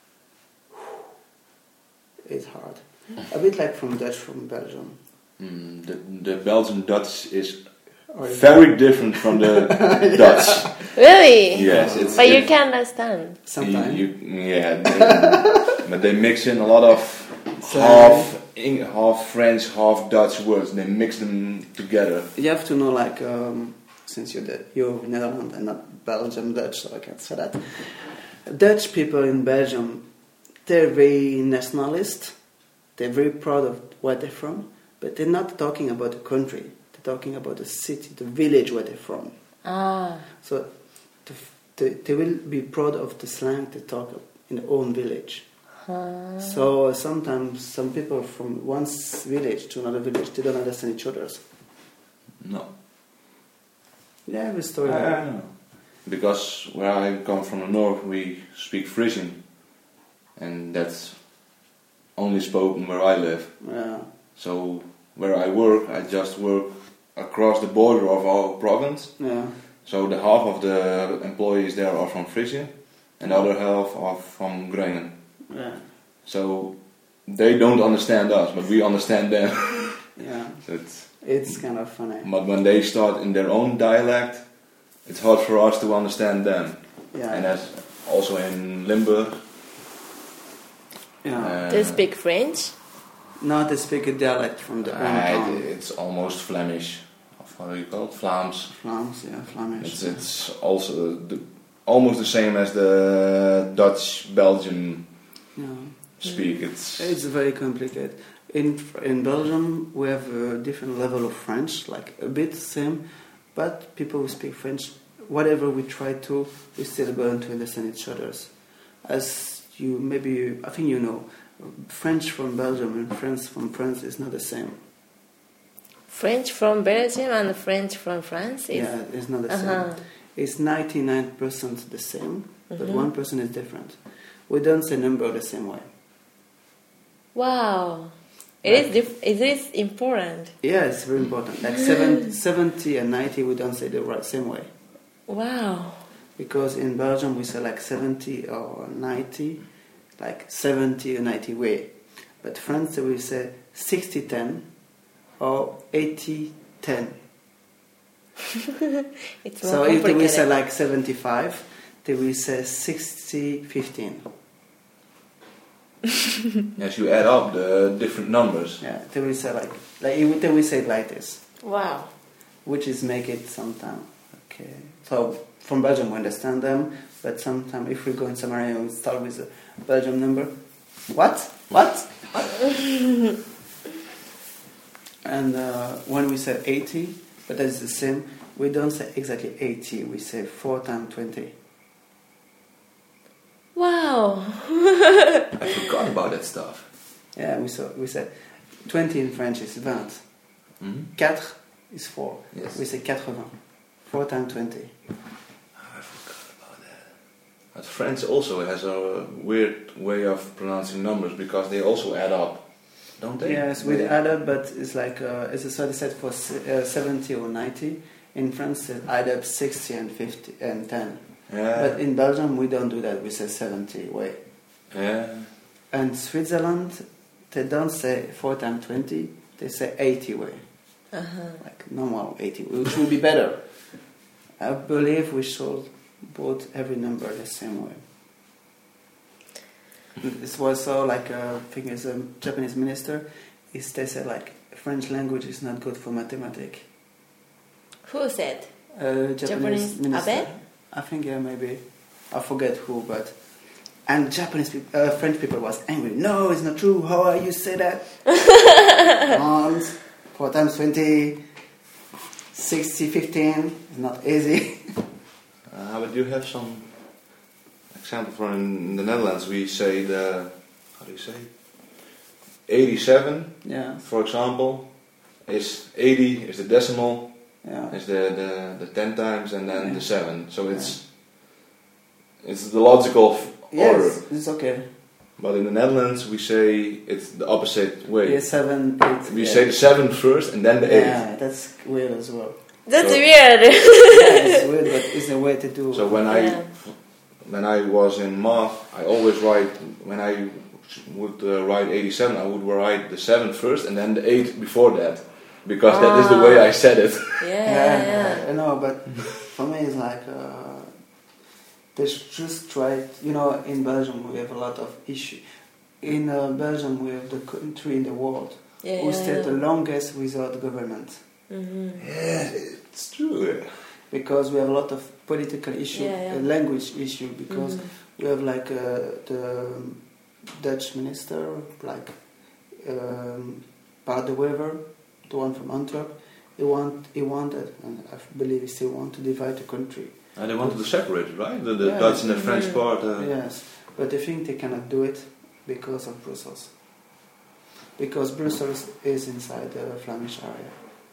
It's hard. A bit like from Dutch from Belgium. Mm, the, the Belgian Dutch is Or is very different from the Dutch. Really? Yes, it's. But you it- can understand. sometimes. You, you, yeah, they, but they mix in a lot of So- half Eng, half French, half Dutch words. And they mix them together. You have to know, like, um, since you're the, you're Netherlands and not Belgium Dutch, so I can't say that. Dutch people in Belgium, they're very nationalist. They're very proud of where they're from, but they're not talking about the country. They're talking about the city, the village where they're from. Ah. So the, the, they will be proud of the slang they talk in their own village. Uh-huh. So sometimes some people from one s- village to another village, they don't understand each other's. No. Yeah, I have a story. I like don't know. Because where I come from the north, we speak Frisian, and that's only spoken where I live. Yeah. So where I work, I just work across the border of our province. Yeah. So the half of the employees there are from Frisian, and the other half are from Groningen. Yeah. So they don't understand us, but we understand them. Yeah. So it's, It's kind of funny. but when they start in their own dialect, it's hard for us to understand them. Yeah. And that's also in Limburg. Yeah. Uh, Do you speak French? Not to speak a dialect from the own uh, town. it's almost Flemish. Of how do you call it? Vlaams. Flams, yeah, Flemish. It's it's also the, almost the same as the Dutch Belgian Yeah. speak. It's It's very complicated. In in Belgium, we have a different level of French, like a bit same, but people who speak French, whatever we try to, we still going to understand each other's. As you maybe, I think you know, French from Belgium and French from France is not the same. French from Belgium and French from France is. Yeah, it's not the Uh-huh. same. It's ninety-nine percent the same, but Mhm. one percent is different. We don't say number the same way. Wow. It Right. is dif- it is important. Yeah, it's very important. Like seven, seventy and ninety, we don't say the right same way. Wow. Because in Belgium we say like seventy or ninety, like seventy or ninety way. But France we say sixty ten or eighty ten. It's more So if we complicated. say like seventy-five, then we say sixty fifteen. as you add up the different numbers. Yeah, then we say like, like if- then we say it like this, Wow. which is make it sometime. Okay. So from Belgium we understand them, but sometimes if we go in some area we start with a Belgium number. What? What? What? And uh, when we say eighty, but that's the same, we don't say exactly eighty, we say four times twenty. Wow. I forgot about that stuff. Yeah, we saw, we say twenty in French is vingt. Hmm? Quatre is four. Yes. We say quatre-vingts. four times twenty. I forgot about that. But French also has a weird way of pronouncing numbers because they also add up, don't they? Yes, with add up, but it's like, uh, it's a sort of set for se- uh, seventy or ninety. In France, it add up sixty and fifty and ten. Yeah. But in Belgium, we don't do that. We say seventy way. yeah. And Switzerland, they don't say four times twenty. They say eighty way. Uh-huh. Like normal eighty, which would be better. I believe we should put every number the same way. This was so like uh, I think as a Japanese minister, is they said like French language is not good for mathematics. Who said? Uh, Japanese, Japanese minister. Abe? I think yeah maybe I forget who, but and Japanese people, uh, French people was angry. No, it's not true. How are you say that? Once, four times twenty, sixty, fifteen. It's not easy. Uh, but you have some example for in the Netherlands. We say the how do you say eighty-seven, Yeah, for example, is eighty is the decimal, yeah. is the, the, the ten times, and then Yeah. the seven. So it's it's the logical f- order. Yes, it's okay. But in the Netherlands, we say it's the opposite way. Yeah, seven, eight. We yeah. say the seven first, and then the eight. Yeah, that's weird as well. That's So- weird. Yeah, it's weird, but it's a way to do. So when Yeah. I when I was in math, I always write when I would uh, write eighty-seven, I would write the seven first and then the eight before that, because that is the way I said it. Yeah, yeah, yeah. I know, but for me it's like uh, they should just try. You know, in Belgium we have a lot of issue. In uh, Belgium we have the country in the world Yeah, who yeah, stayed yeah. the longest without government. Mhm. Yeah, it's true. Because we have a lot of political issue, Yeah, yeah. uh, language issue, because Mhm. we have like uh, the Dutch minister, like um, Bart de Wever, the one from Antwerp. He want, he wanted, and I believe he still want to divide the country. And they wanted to separate it, right? The, the Yeah. Dutch and the French Mhm. part. Uh, Yes, but I think they cannot do it because of Brussels. Because Brussels is inside the Flemish area.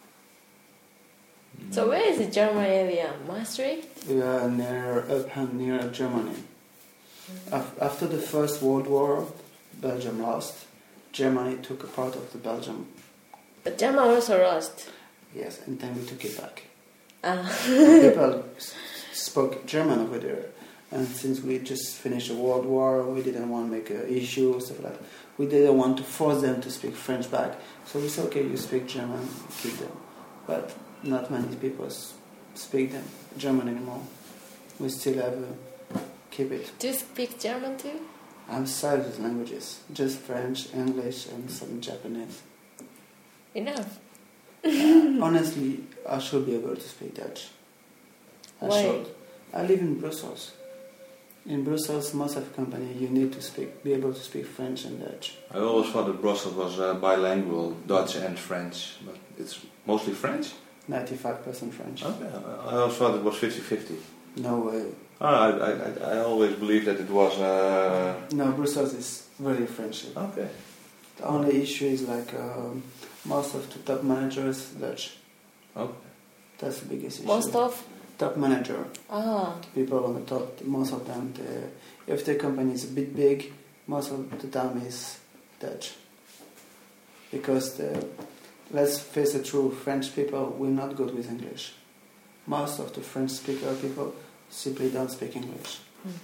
So where is the German area? Maastricht? We are near up and near Germany. Af- after the First World War, Belgium lost. Germany took a part of the Belgium. But German also lost. Yes, and then we took it back. Ah. People s- spoke German over there, and since we just finished a world war, we didn't want to make an issue, stuff like that. We didn't want to force them to speak French back, so we said, okay, you speak German, keep them. But not many people s- speak them German anymore. We still have uh, keep it. Do you speak German too? Outside of the languages, just French, English, and some Japanese. Enough. Uh, honestly, I should be able to speak Dutch. I Why? should. I live in Brussels. In Brussels, most of the company, you need to speak, be able to speak French and Dutch. I always thought that Brussels was uh, bilingual, Dutch and French, but it's mostly French? ninety-five percent French. Okay, I always thought it was fifty-fifty. No way. Oh, I, I, I- I always believed that it was... Uh, No, Brussels is really French. okay. The only issue is like um, most of the top managers Dutch. Okay. That's the biggest issue. Most of? Top manager, Ah. people on the top, most of them, they, if the company is a bit big, most of the time is Dutch. Because the, let's face the truth, French people will not good with English. Most of the French speaker people simply don't speak English.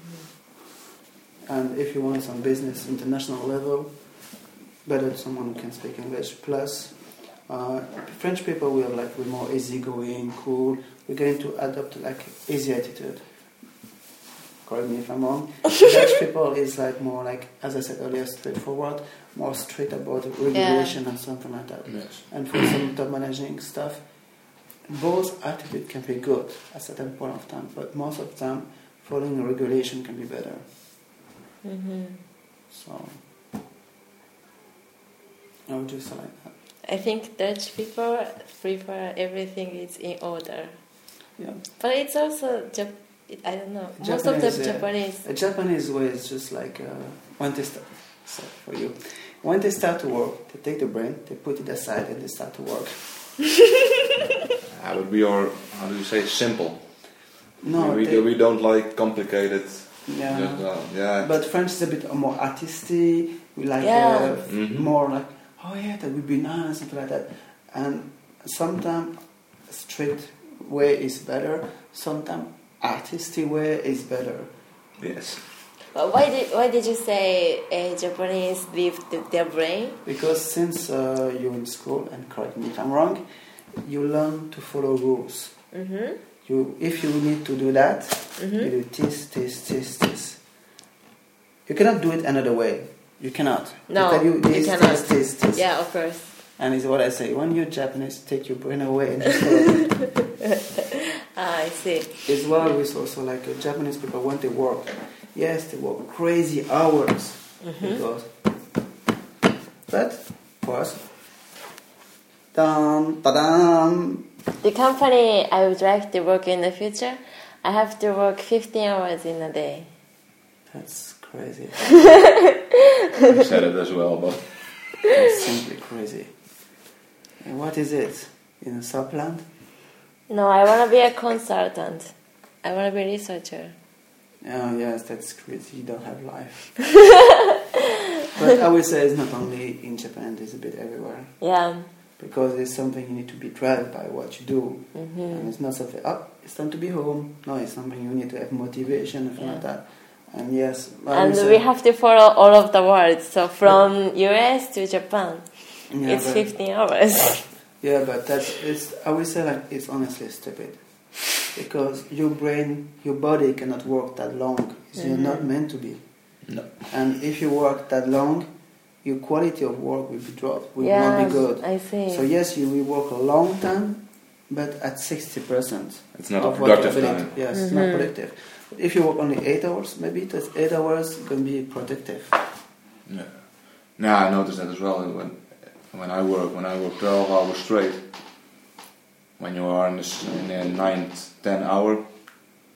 Mm-hmm. And if you want some business international level, better someone who can speak English. Plus, uh, French people will like we're more easygoing, cool. We're going to adopt like easy attitude. Correct me if I'm wrong. Dutch people is like more like, as I said earlier, straightforward, more straight about regulation and something like that. Yes. And for some top managing stuff, both attitude can be good at a certain point of time, but most of the time, following regulation can be better. Mm-hmm. So, I would just like that. I think Dutch people prefer everything is in order. Yeah. But it's also, Jap- I don't know, most of Japanese, the yeah. Japanese. A Japanese way is just like uh, when they start. So for you, when they start to work, they take the brain, they put it aside, and they start to work. That would be our, how do you say, simple. No, we, they, we don't like complicated. yeah. Just, uh, yeah. But French is a bit more artisty. We like Yeah. uh, Mhm. more like, oh yeah, that would be nice, something like that. And sometimes strict way is better. Sometimes artistic way is better. Yes. But why did why did you say uh, Japanese leave the, their brain? Because since uh, you're in school, and correct me if I'm wrong, you learn to follow rules. Mm-hmm. You, if you need to do that, Mm-hmm. you do this, this, this, this. You cannot do it another way. You cannot. No, They tell you you this, cannot. this, this, this. Yeah, of course. And it's what I say. When you're Japanese, take your brain away and just follow it. Ah, I see. It's well with also like uh, Japanese people when they work. Yes, they work crazy hours. Mm-hmm. Because, but for us, dun, ba-dum. The company I would like to work in the future, I have to work fifteen hours in a day. That's crazy. I said it as well, but That's simply crazy. And what is it? In a subplant? No, I want to be a consultant. I want to be a researcher. Oh yes, that's crazy. You don't have life. But I would say it's not only in Japan, it's a bit everywhere. Yeah. Because it's something you need to be driven by what you do. Mm-hmm. And it's not something, oh, it's time to be home. No, it's something you need to have motivation and things Yeah. like that. And yes, I And would we say- have to follow all of the words. So from U S to Japan, yeah, it's but- fifteen hours. Yeah, but that's, it's, I would say like, it's honestly stupid. Because your brain, your body cannot work that long. You're Mhm. not meant to be. no. And if you work that long, your quality of work will be dropped, will Yeah, not be good. I see. So yes, you will work a long time, but at sixty percent It's not a of what you productive did. time. Yes, it's not Mhm. productive. But if you work only eight hours, maybe those eight hours going to be productive. Yeah. No, I noticed that as well. When when I work, when I work twelve hours straight, when you are in the, s- in the ninth, ten hour,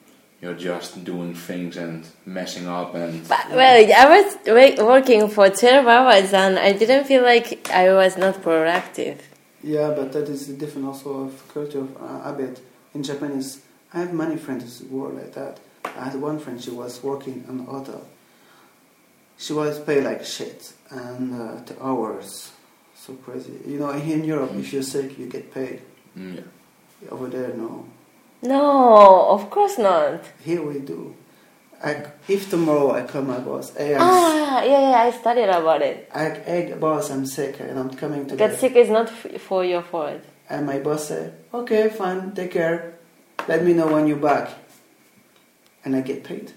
you're just doing things and messing up and. But, well, I was wa- working for twelve hours and I didn't feel like I was not productive. Yeah, but that is different also of culture of uh, habit. In Japanese, I have many friends who were like that. I had one friend, she was working in a hotel. She was paid like shit, and uh, the hours, so crazy. You know, here in Europe, if you're sick, you get paid. Mm, yeah. Over there, no. No, of course not. Here we do. I, if tomorrow I call my boss, hey, I'm Ah, yeah, yeah, I studied about it. I, hey, boss, I'm sick and I'm coming today. Get sick is not f- for your fault. And my boss said, okay, fine, take care. Let me know when you're back. And I get paid.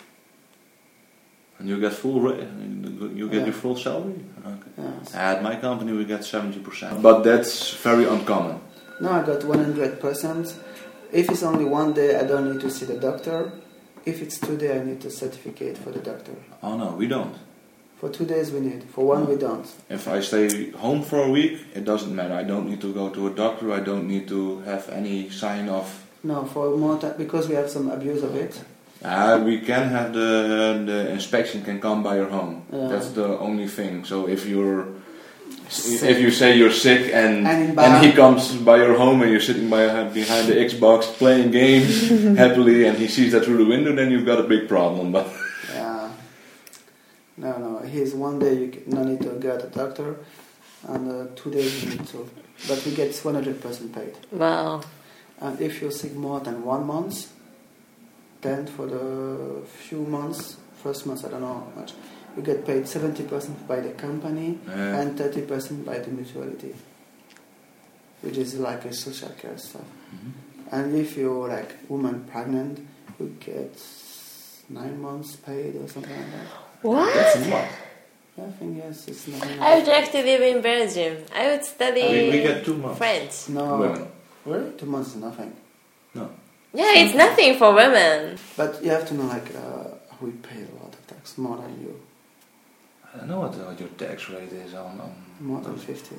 And you get full, ra- you get Yeah. your full salary. Okay. Yes. At my company, we get seventy percent, but that's very uncommon. No, I got one hundred percent. If it's only one day, I don't need to see the doctor. If it's two days, I need a certificate for the doctor. Oh no, we don't. For two days we need. For one we don't. If I stay home for a week, it doesn't matter. I don't need to go to a doctor. I don't need to have any sign of. No, for more time, because we have some abuse of it. Uh, we can have the the inspection can come by your home. Yeah. That's the only thing. So if you're Sick. if you say you're sick and And in and Bar- he comes by your home and you're sitting by behind the Xbox playing games happily and he sees that through the window, then you've got a big problem. But Yeah. No, no. Here's one day you no need to go to the doctor, and uh, two days you need to. But he gets one hundred percent paid. Wow. And if you're sick more than one month, then for the few months, first month I don't know how much, you get paid seventy percent by the company Yeah. and thirty percent by the mutuality, which is like a social care stuff. Mm-hmm. And if you're like woman pregnant, you get nine months paid or something like that. What? that's a lot. Yeah, I think yes, it's nothing. I would like to live in Belgium. I would study We, we get two months. French. No, Women. really, two months is nothing. No. Yeah, it's nothing for women. But you have to know, like, uh, we pay a lot of tax, more than you, I don't know what, what your tax rate is on. on more than fifty.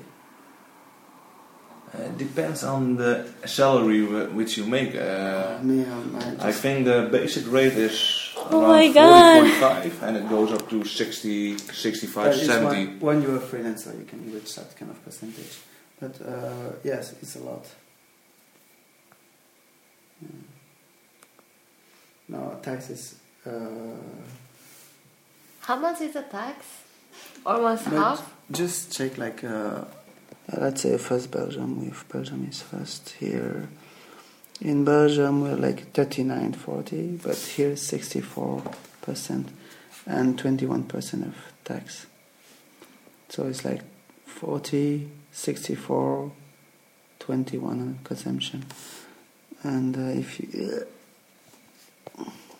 Uh, it depends on the salary wh- which you make. Uh, Me, um, I, I just, think the basic rate is Oh around my God. forty point five and it goes up to sixty, sixty-five, that is seventy. when, when you're a freelancer, you can reach that kind of percentage. But uh, yes, it's a lot. Yeah. No, taxes. Uh, How much is the tax? Almost but half? just check, like, uh, let's say first Belgium, if Belgium is first here. In Belgium, we're like thirty-nine, forty, but here sixty-four percent and twenty-one percent of tax. So it's like forty, sixty-four, twenty-one on consumption. And uh, if you... Uh,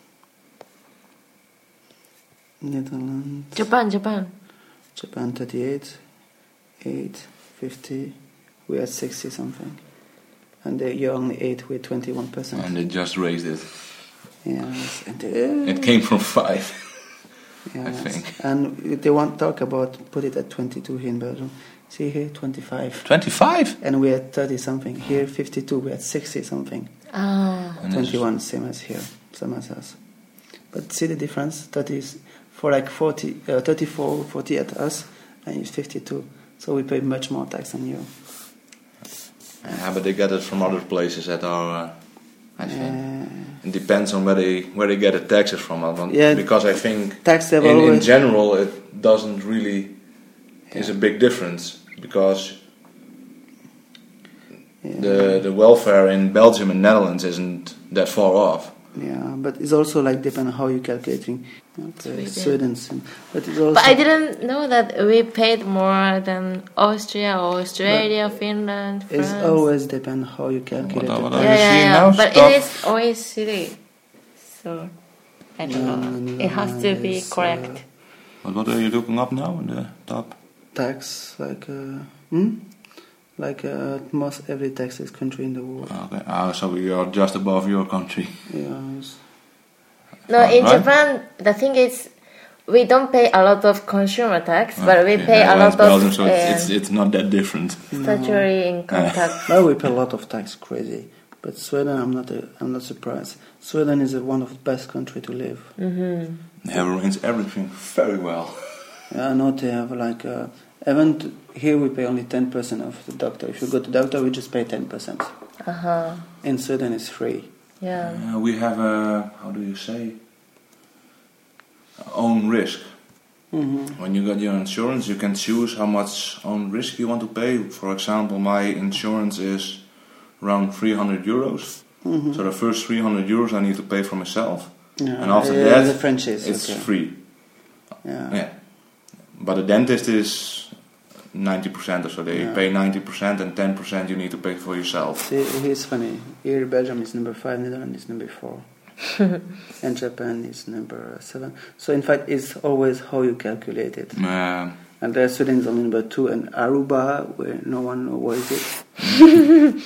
Netherlands... Japan, Japan. Japan thirty-eight, eight, fifty, we are sixty something. And uh, you're only eight with twenty-one percent. And they just raised it. Yes. And, uh, It came from five. yes. I think. And they want to talk about put it at twenty-two here in Belgium. See here, twenty-five. twenty-five? And we're at thirty something. Here, fifty-two, we're at sixty something. Ah. And it's- twenty-one, same as here, same as us. But see the difference? thirty is for like forty, uh, thirty-four, forty at us, and it's fifty-two. So we pay much more tax than you. Yeah, but they get it from other places that are, uh, I think. Uh, It depends on where they where they get the taxes from. I don't- Yeah. Because I think tax in, level in always- general it doesn't really is a big difference because yeah. the the welfare in Belgium and Netherlands isn't that far off. Yeah, but it's also like depend on how you're calculating. Okay, Sweden. Sweden, but it's also. But I didn't know that we paid more than Austria, Australia, Finland, France. It's always depend how you calculate What- it. what yeah, are you yeah, seeing yeah. now? But Stop. it is always city. So, I don't No, know. no, no, It has to no, be it's, correct. But what are you looking up now in the top? Tax, like, uh, hmm? like uh, most every taxes country in the world. Okay, ah, so we are just above your country. Yes. No, in Right? Japan, the thing is, we don't pay a lot of consumer tax, but we Yeah, pay a Netherlands, lot Belgium, of so it's, uh, it's it's not that different. statutory income tax. Now we pay a lot of tax, crazy. But Sweden, I'm not. A, I'm not surprised. Sweden is a, one of the best country to live. Mm-hmm. They arrange everything very well. Yeah, I know they have like. Uh, even t- here we pay only ten percent of the doctor. If you go to doctor, we just pay ten percent. Uh huh. In Sweden, it's free. Yeah. Uh, we have a, how do you say, own risk. Mm-hmm. When you got your insurance, you can choose how much own risk you want to pay. For example, my insurance is around three hundred euros. Mm-hmm. So the first three hundred euros I need to pay for myself. Yeah, And after yeah, that, the franchise, it's okay. free. Yeah. Yeah. But the dentist is ninety percent or so. They Yeah. pay ninety percent and ten percent you need to pay for yourself. See, here's funny. Here, Belgium is number five, Netherlands is number four, and Japan is number seven. So, in fact, it's always how you calculate it. Uh, And there, Sweden is only number two, and Aruba, where no one knows where is it.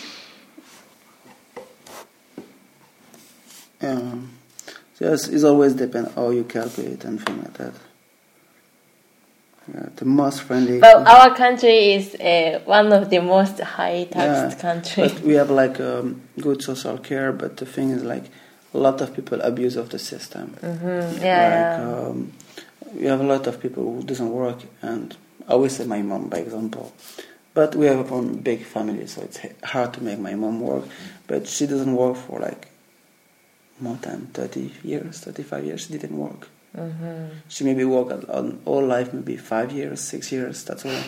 um, so yes, it's always depend how you calculate and things like that. Yeah, the most friendly. But our country is uh, one of the most high taxed Yeah, countries. But we have like um, good social care, but the thing is like a lot of people abuse of the system. Mm-hmm. Yeah. Like um, we have a lot of people who doesn't work, and I always say my mom, by example. But we have a big family, so it's hard to make my mom work. But she doesn't work for like more than thirty years, thirty-five years. She didn't work. Mm-hmm. She maybe worked on all life, maybe five years, six years. That's all.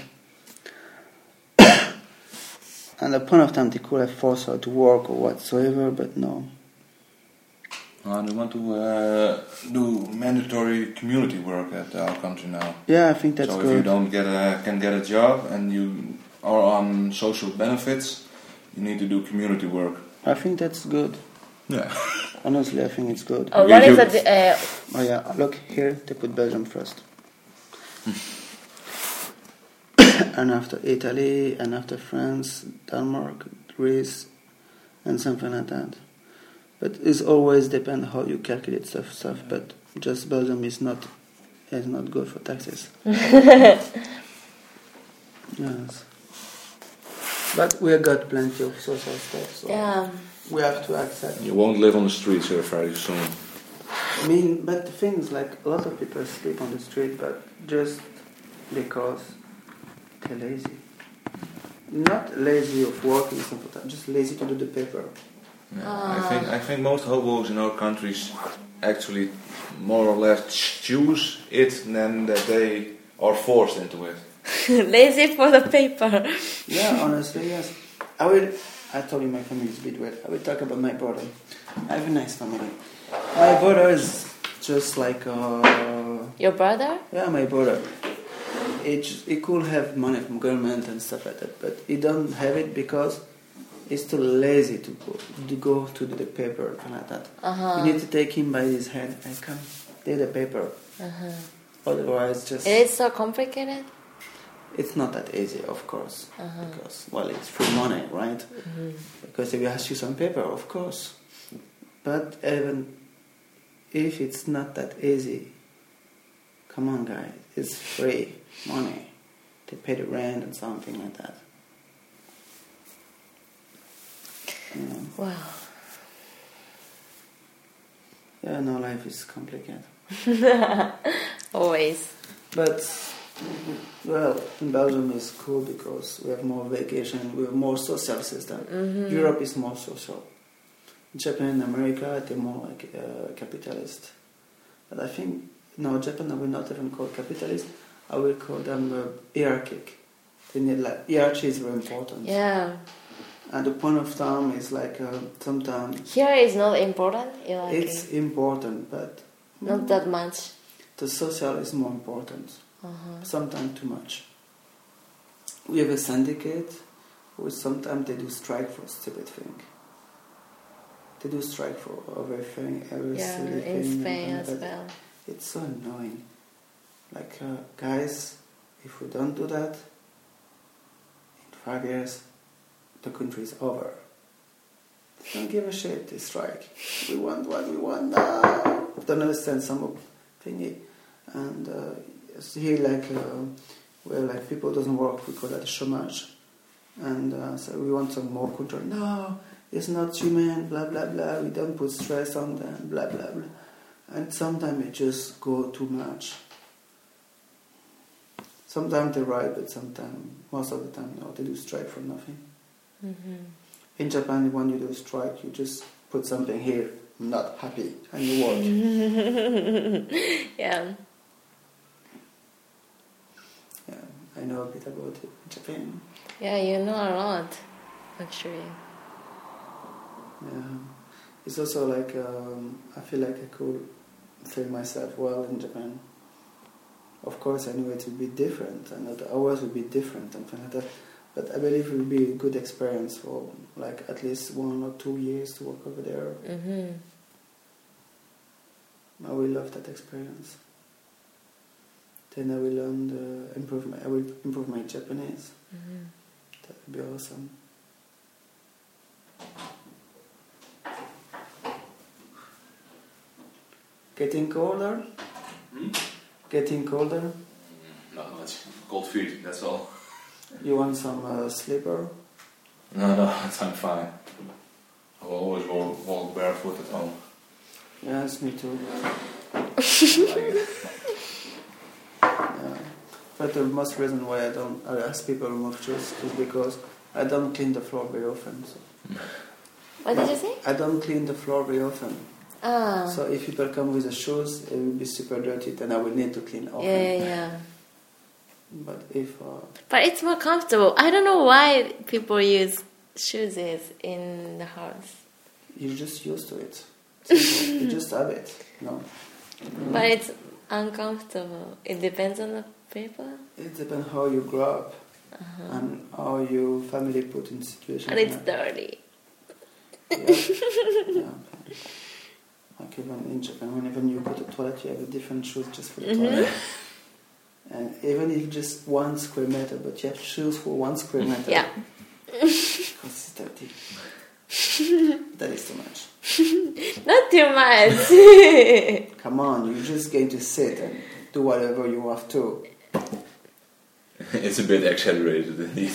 And at the point of time, they could have forced her to work or whatsoever, but no. uh, they want to uh, do mandatory community work at our country now. Yeah, I think that's so good. if you don't get a, can get a job and you are on social benefits, you need to do community work. I think that's good. Yeah. Honestly, I think it's good. Oh, Yeah, what is you- it? Uh, Oh yeah, look here, they put Belgium first. And after Italy, and after France, Denmark, Greece, and something like that. But it's always depend how you calculate stuff, stuff. But just Belgium is not is not good for taxes. Yes. But we have got plenty of social stuff, so yeah. we have to accept. You won't live on the streets here very soon. I mean, but the thing is, like, a lot of people sleep on the street, but just because they're lazy. Not lazy of working sometimes, just lazy to do the paper. Yeah, Ah. I think I think most hobos in our countries actually more or less choose it than that they are forced into it. Lazy for the paper. Yeah, honestly, yes. I will. I told you my family is a bit weird. I will talk about my brother. I have a nice family. My brother is just like uh, Your brother? yeah, my brother. He just, he could have money from government and stuff like that, but he don't have it because he's too lazy to go to go to do the paper and like that. Uh-huh. You need to take him by his hand and come do the paper. Uh-huh. Otherwise, just It is so complicated? it's not that easy, of course, Uh-huh. because well, it's free money, right? Mm-hmm. Because if you ask you some paper, of course. But even if it's not that easy, come on, guys, it's free money. They pay the rent and something like that. Yeah, Wow. yeah no, life is complicated. Always. But, well, in Belgium it's cool because we have more vacation, we have more social system. Mm-hmm. Europe is more social. Japan and America, they're more like uh, capitalist. But I think, no, Japan I will not even call capitalist, I will call them uh, hierarchic. They need like, hierarchy is very important. Yeah. And the point of time is like uh, sometimes Here is not important. You like it's it. important, but Not that much. the social is more important. Uh-huh. Sometimes too much. We have a syndicate who sometimes they do strike for stupid thing. They do strike for everything, every Yeah, silly in thing. Spain and as that- well. It's so annoying. Like, uh, guys, if we don't do that, in five years, the country is over. Don't give a shit, they strike. We want what we want now. Don't understand some of thingy. And uh, here, like, uh, where like people doesn't work, we call that chômage. And uh, so we want some more control. No, it's not human, blah blah blah, we don't put stress on them, blah blah blah. And sometimes it just go too much. Sometimes they're right, but sometimes, most of the time, no, they do strike for nothing. Mm-hmm. In Japan, when you do a strike, you just put something here, I'm not happy, and you walk. Yeah. Yeah, I know a bit about it in Japan. Yeah, you know a lot, actually. Yeah. It's also like, um, I feel like I could feel myself well in Japan. Of course, I knew it would be different, and that the hours would be different, and things like that. But I believe it would be a good experience for like at least one or two years to work over there. Mm-hmm. I will love that experience. Then I will learn the improve my I will improve my Japanese. Mm-hmm. That would be awesome. Getting colder? Hmm? Getting colder? Not much. Cold feet, that's all. You want some uh, slipper? No, no, I'm fine. I will always walk, walk barefoot at home. Yes, me too. Like it. Yeah. But the most reason why I don't I ask people to remove shoes is because I don't clean the floor very often. So. What did you say? I don't clean the floor very often. Ah. So if people come with the shoes, it will be super dirty, then I will need to clean often. Yeah, yeah, yeah. But if uh, But it's more comfortable. I don't know why people use shoes in the house. you're just used to it, simple. You just have it, you know. But it's uncomfortable. It depends on the people. It depends how you grow up Uh-huh. and how your family put in situations. And it's like- dirty. Yeah. Yeah. Like even in Japan, whenever you go to the toilet, you have a different shoes just for the Mhm. toilet. And even if just one square meter, but you have shoes for one square meter. Yeah. Because it's dirty. That is too much. Not too much. Come on, you're just going to sit and do whatever you have to. It's a bit exaggerated indeed.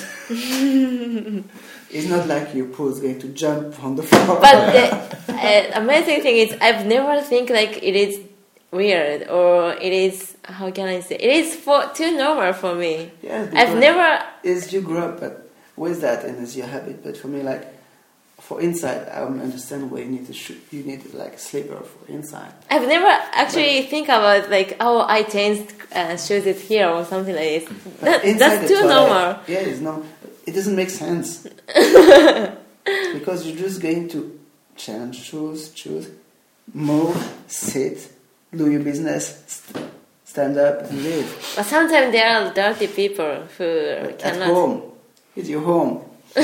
It's not like your poo is going to jump on the floor. But the uh, amazing thing is, I've never think like it is weird or it is, how can I say, it is for too normal for me. Yes, I've because never. Is you grew up but with that and it's your habit. But for me, like for inside, I don't understand why you need to shoot. You need like a slipper for inside. I've never actually think about like, oh, I changed uh, shoes it here or something like this. But That, inside that's the too toilet, normal. Yeah, it's no. It doesn't make sense because you're just going to change shoes, choose, move, sit, do your business, st- stand up, and leave. But sometimes there are dirty people who But cannot. at home, it's your home.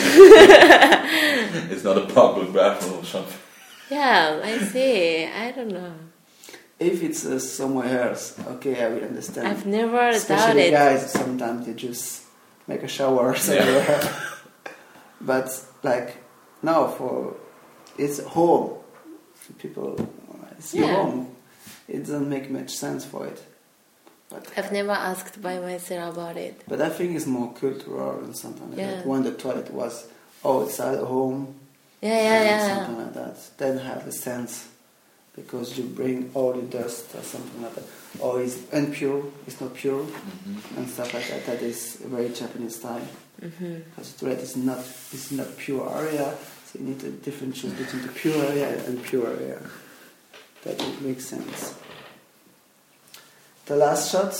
It's not a public bathroom or something. Yeah, I see. I don't know. If it's uh, somewhere else, okay, I will understand. I've never Especially doubted. guys, sometimes they just make a shower somewhere. But like now, for it's home. People, it's your Yeah. home. It doesn't make much sense for it. But I've never asked by myself about it. but I think it's more cultural and something like Yeah. that. When the toilet was outside the home, Yeah, yeah, and yeah. something like that, then have a sense because you bring all the dust or something like that. Or it's impure, it's not pure, Mm-hmm. and stuff like that. That is a very Japanese style. Mm-hmm. Because the toilet is not is not pure area, so you need to differentiate between the pure area and pure area. That would make sense. The last shot.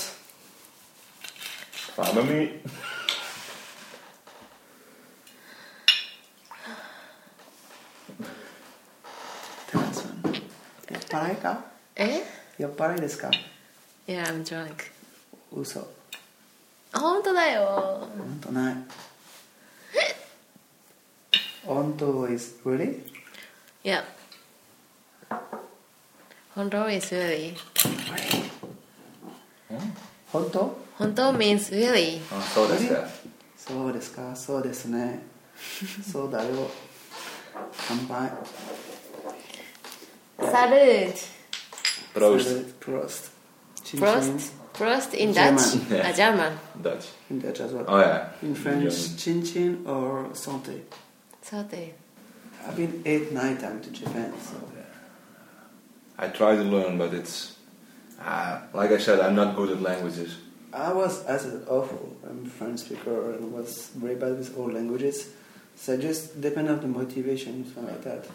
Follow me. The last one. Yapparai ka? Eh? Yapparai desu ka? Yeah, I'm drunk. Uso. 本当だよ。 本当ない。本当 is really? Yeah. 本当 is really. 本当? 本当 means really. あ、そうですか。 そうですか、そうですね。そうだよ。乾杯。 Salud. Proost. Prost. Chin Prost. chin. Prost in German. Dutch. Yeah. Ah, German. Dutch. In Dutch as well. Oh yeah. In French, German. chin chin or santé. Santé. I've been eight, nine times to Japan. So I try to learn, but it's uh, like I said, I'm not good at languages. I was as awful. I'm a French speaker and was very bad with all languages. So just depend on the motivation, something like that.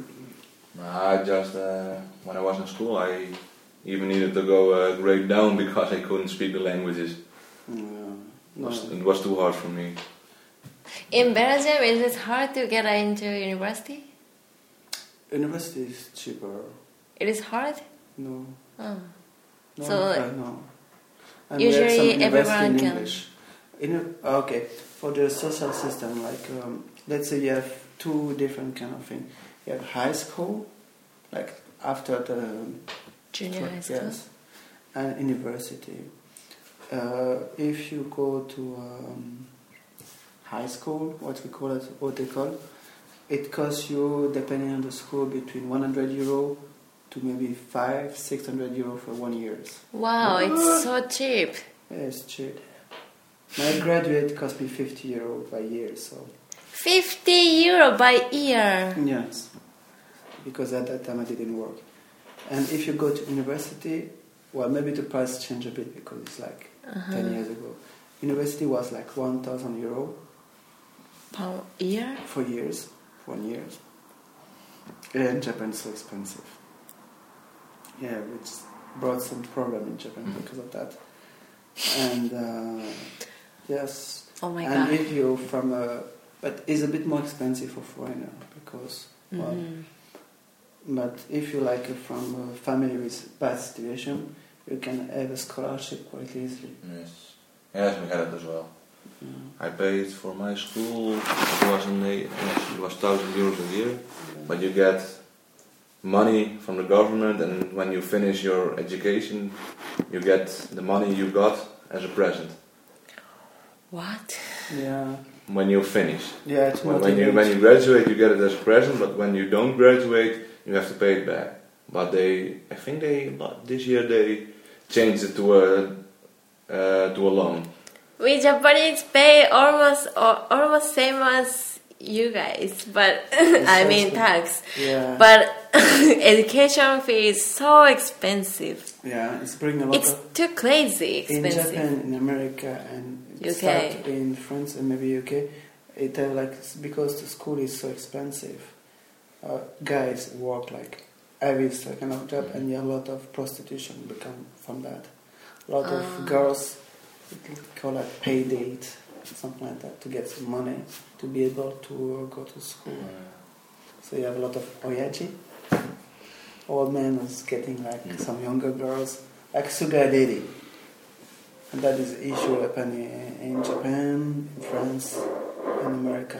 I just uh, when I was in school, I even needed to go a grade down because I couldn't speak the languages. Yeah, It no. was, it was too hard for me. In Belgium, is it hard to get into university? University is cheaper. It is hard? No. Oh. No, So, uh, no. And usually we have some university everyone in can- English. In a, okay, for the social system, like um, let's say you have two different kind of things. You have high school, like after the Junior high school? yes, and university. Uh, if you go to um, high school, what we call it, what they call, it costs you, depending on the school, between one hundred euro to maybe five, six hundred euro for one year. Wow, it's so cheap. Yeah, it's cheap. My graduate cost me fifty euro by year, so fifty euro by year. yes, because at that time I didn't work. And if you go to university, well, maybe the price changed a bit because it's like Uh-huh. ten years ago. University was like one thousand euro Per year? for years, for one year. And Japan is so expensive. Yeah, which brought some problem in Japan Mhm. because of that. And uh, yes, Oh my and god. if you're from a, but it's a bit more expensive for foreigner because, well, Mhm. but if you like from a family with bad situation, you can have a scholarship quite easily. Yes, yes, we had it as well. Yeah. I paid for my school. It was in the, yes, it was thousand euros a year, but you get money from the government, and when you finish your education, you get the money you got as a present. What? Yeah, When you finish, yeah. It's when, when you motivating. when you graduate, you get it as a present, but when you don't graduate, you have to pay it back. But they, I think they this year they changed it to a uh, to a loan. We Japanese pay almost or almost same as you guys, but I mean tax. Yeah, But education fee is so expensive. yeah, it's bringing a lot It's of. too crazy In expensive. Japan, in America, and U K. start in France and maybe U K, it have like because the school is so expensive. Uh, guys work like every kind of job, and you have a lot of prostitution become from that. A lot Ah. of girls call it pay date, something like that, to get some money to be able to uh, go to school. So you have a lot of oyaji, old men is getting like Mm. some younger girls, like sugar daddy. And that is the issue happening in Japan, in France, in America.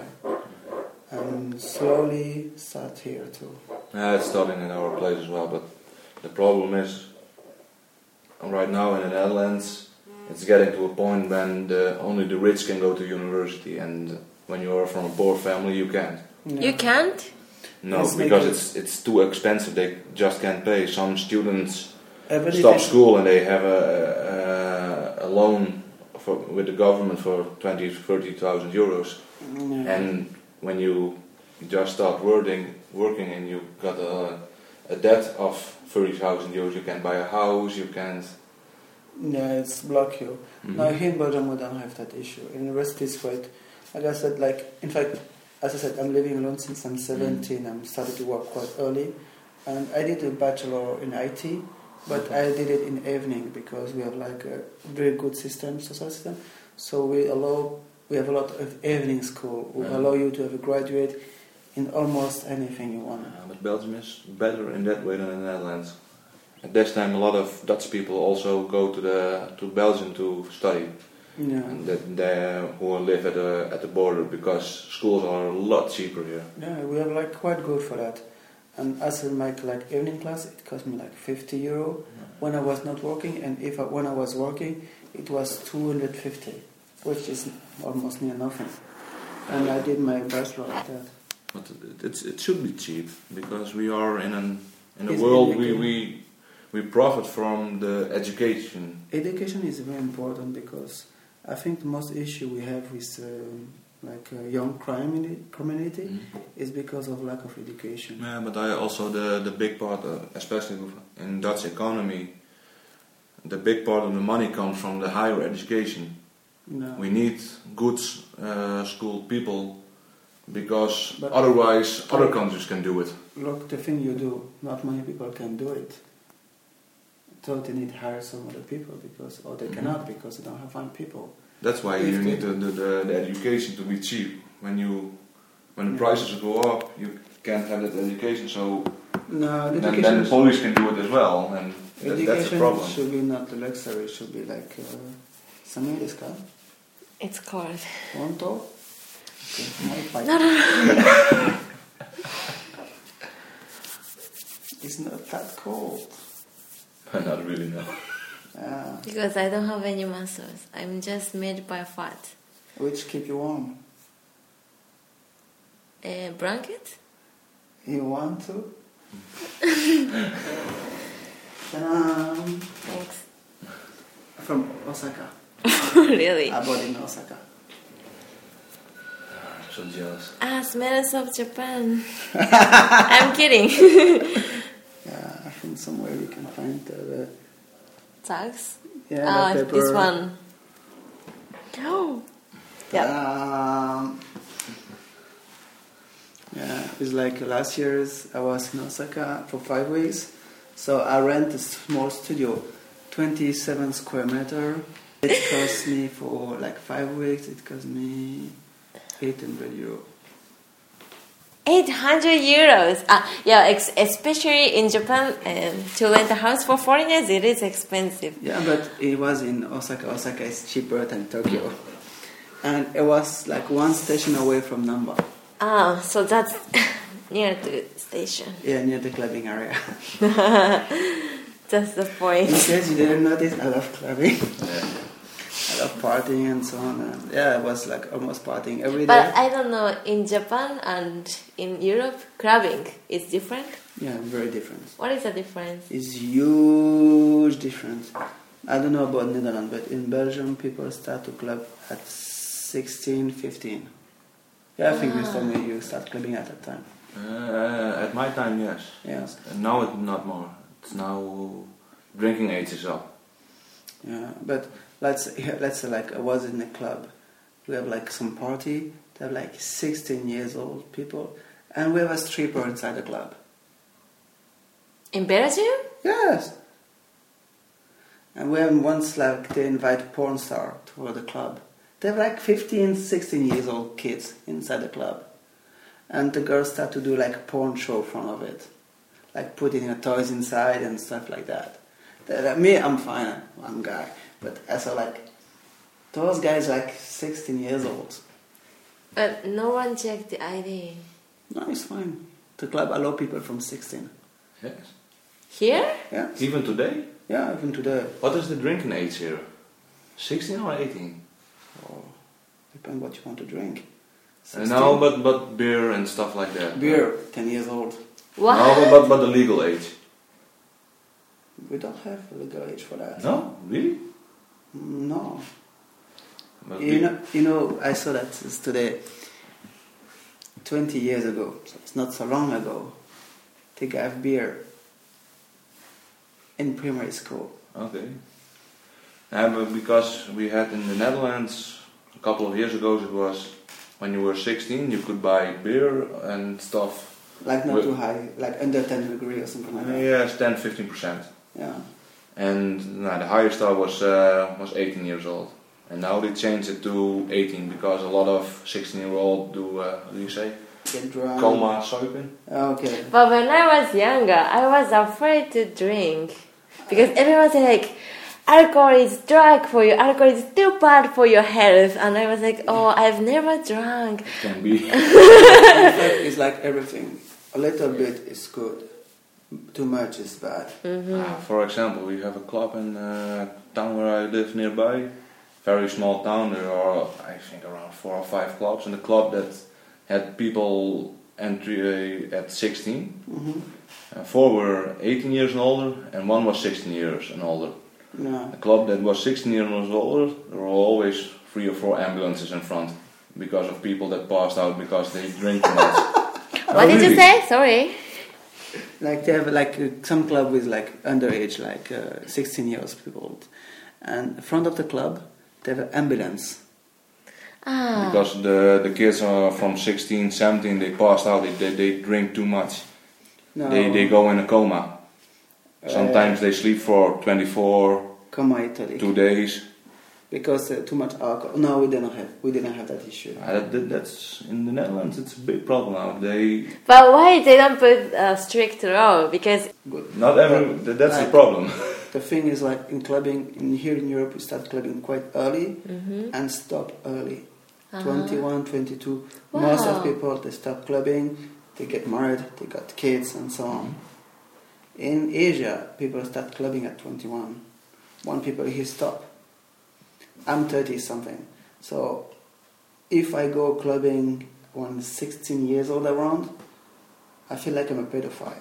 And slowly start here too. Yeah, it's starting in our place as well, but the problem is right now in the Netherlands, it's getting to a point when the, only the rich can go to university, and when you are from a poor family, you can't. Yeah. You can't? No, It's because making- it's it's too expensive. They just can't pay. Some students Every stop day- school and they have a, a, a loan for, with the government for twenty, thirty thousand euros. Yeah. And when you just start working, working and you got a, a debt of thirty thousand euros, you can't buy a house, you can't. Yeah, it's block you. Mhm. Now here in Belgium we don't have that issue. University is quite, like I said, like in fact, as I said, I'm living alone since I'm seventeen. I'm started to work quite early, and I did a bachelor in I T, but I did it in evening because we have like a very good system, social system. So we allow, we have a lot of evening school. We Yeah. allow you to have a graduate in almost anything you want. Uh, but Belgium is better in that way than the Netherlands. At this time, a lot of Dutch people also go to the to Belgium to study, Yeah. and that they who live at the at the border because schools are a lot cheaper here. Yeah, we are like quite good for that. And as in my like evening class, it cost me like fifty euro when I was not working, and if I, when I was working, it was two hundred fifty, which is almost near nothing. And I did my bachelor like that. But it's it should be cheap because we are in an in a It's world we, illegal. we we profit from the education. Education is very important because I think the most issue we have with um, like uh, young crime in the community Mm. is because of lack of education. Yeah, but I also the the big part, uh, especially in Dutch economy, the big part of the money comes from the higher education. No. We need good uh, schooled people because But- otherwise other countries can do it. Look, the thing you do, not many people can do it. So they need to hire some other people because, or they Mhm. cannot because they don't have fine people. That's why If you they- need the, the, the, the education to be cheap. When you when the Yeah. prices go up, you can't have that education. So No, the then, then education, the police can do it as well, and that, that's a education problem. should be not the luxury. It should be like uh, something this kind. It's cold. Honto. Okay, my pipe. No, no, It's not that cold. Not really, no. Uh, because I don't have any muscles. I'm just made by fat. which keep you warm. A blanket? You want to? um, Thanks. from Osaka. Really? I bought in Osaka. I'm so jealous. Ah, smells of Japan. I'm kidding. Yeah, I think somewhere we can find the. Tags? Yeah, Ah, the this paper. one. Oh. Yeah. Um, yeah, it's like last year's. I was in Osaka for five weeks, so I rent a small studio, twenty-seven square meter. It cost me for like five weeks. It cost me eight hundred euro. eight hundred euros. Ah, yeah, ex- especially in Japan, um, to rent a house for foreigners, it is expensive. Yeah, but it was in Osaka. Osaka is cheaper than Tokyo, and it was like one station away from Namba. Ah, so that's near the station. Yeah, near the clubbing area. That's the In point. case you didn't notice, I love clubbing. Yeah. I love partying and so on. And yeah, I was like almost partying every day. But I don't know, in Japan and in Europe, clubbing is different. Yeah, very different. What is the difference? It's huge difference. I don't know about Netherlands, but in Belgium, people start to club at sixteen, fifteen. Yeah, I think you told me you start clubbing at that time. Uh, at my time, yes. Yes. And now it's not more. It's now drinking age is up. Yeah, but let's let's say like I was in a club. We have like some party. They have like sixteen years old people, and we have a stripper inside the club. In Belgium? Yes. And when once like they invite porn star to the club, they have like fifteen, sixteen years old kids inside the club, and the girls start to do like a porn show in front of it, like putting her toys inside and stuff like that. They, like, me, I'm fine, I'm a guy, but I saw like those guys like sixteen years old. But no one checked the I D. No, it's fine. The club allow people from sixteen. Yes. Here? Yeah, Even today? yeah, even today. What is the drinking age here? sixteen or eighteen? Oh, depends what you want to drink. Uh, no, but, but beer and stuff like that. Beer, ten years old. What? No, but, but the legal age. We don't have a legal age for that. No? Really? No. But You know, you know, I saw that it's today, twenty years ago, so it's not so long ago, they gave beer in primary school. Okay. Yeah, but because we had in the Netherlands a couple of years ago, it was when you were sixteen, you could buy beer and stuff. Like not Wait. too high, like under ten degree or something like that. Yes, ten to fifteen percent. Yeah. And nah, the highest star was uh, was eighteen years old. And now they changed it to eighteen because a lot of sixteen year old do, uh, what do you say? Get drunk. Coma suipen. Okay. But when I was younger, I was afraid to drink. Because everyone said like, alcohol is drug for you, alcohol is too bad for your health. And I was like, oh, I've never drunk. Can be. In fact, it's like everything. A little bit is good. Too much is bad. Ah, for example, we have a club in uh, town where I live nearby. Very small town. There are, I think, around four or five clubs. And the club that had people entry uh, at sixteen. Mm-hmm. Uh, four were eighteen years and older, and one was sixteen years and older. Yeah. The club that was sixteen years and older, there were always three or four ambulances in front because of people that passed out because they drink too much. What Oh, did you really? say? Sorry. Like they have like uh, some club with like underage, like uh, sixteen years people, and in front of the club they have an ambulance. Ah. Because the the kids are from sixteen, seventeen, they passed out. They they, they drink too much. No, They they go in a coma. Sometimes they sleep for twenty-four, Coma Italy. two days. Because uh, too much alcohol. No, we didn't have. We didn't have that issue. Uh, that, that- that's in the Netherlands. It's a big problem now. They But why they don't put a strict rule? Because Good. not every. that- That's the Like, problem. The thing is, like in clubbing, in here in Europe, we start clubbing quite early Mhm. and stop early. Uh-huh. twenty-one, twenty-two. Wow. Most of people they stop clubbing, they get married, they got kids, and so on. In Asia, people start clubbing at twenty-one. One people here stop. I'm thirty something, so if I go clubbing when sixteen years old around, I feel like I'm a pedophile.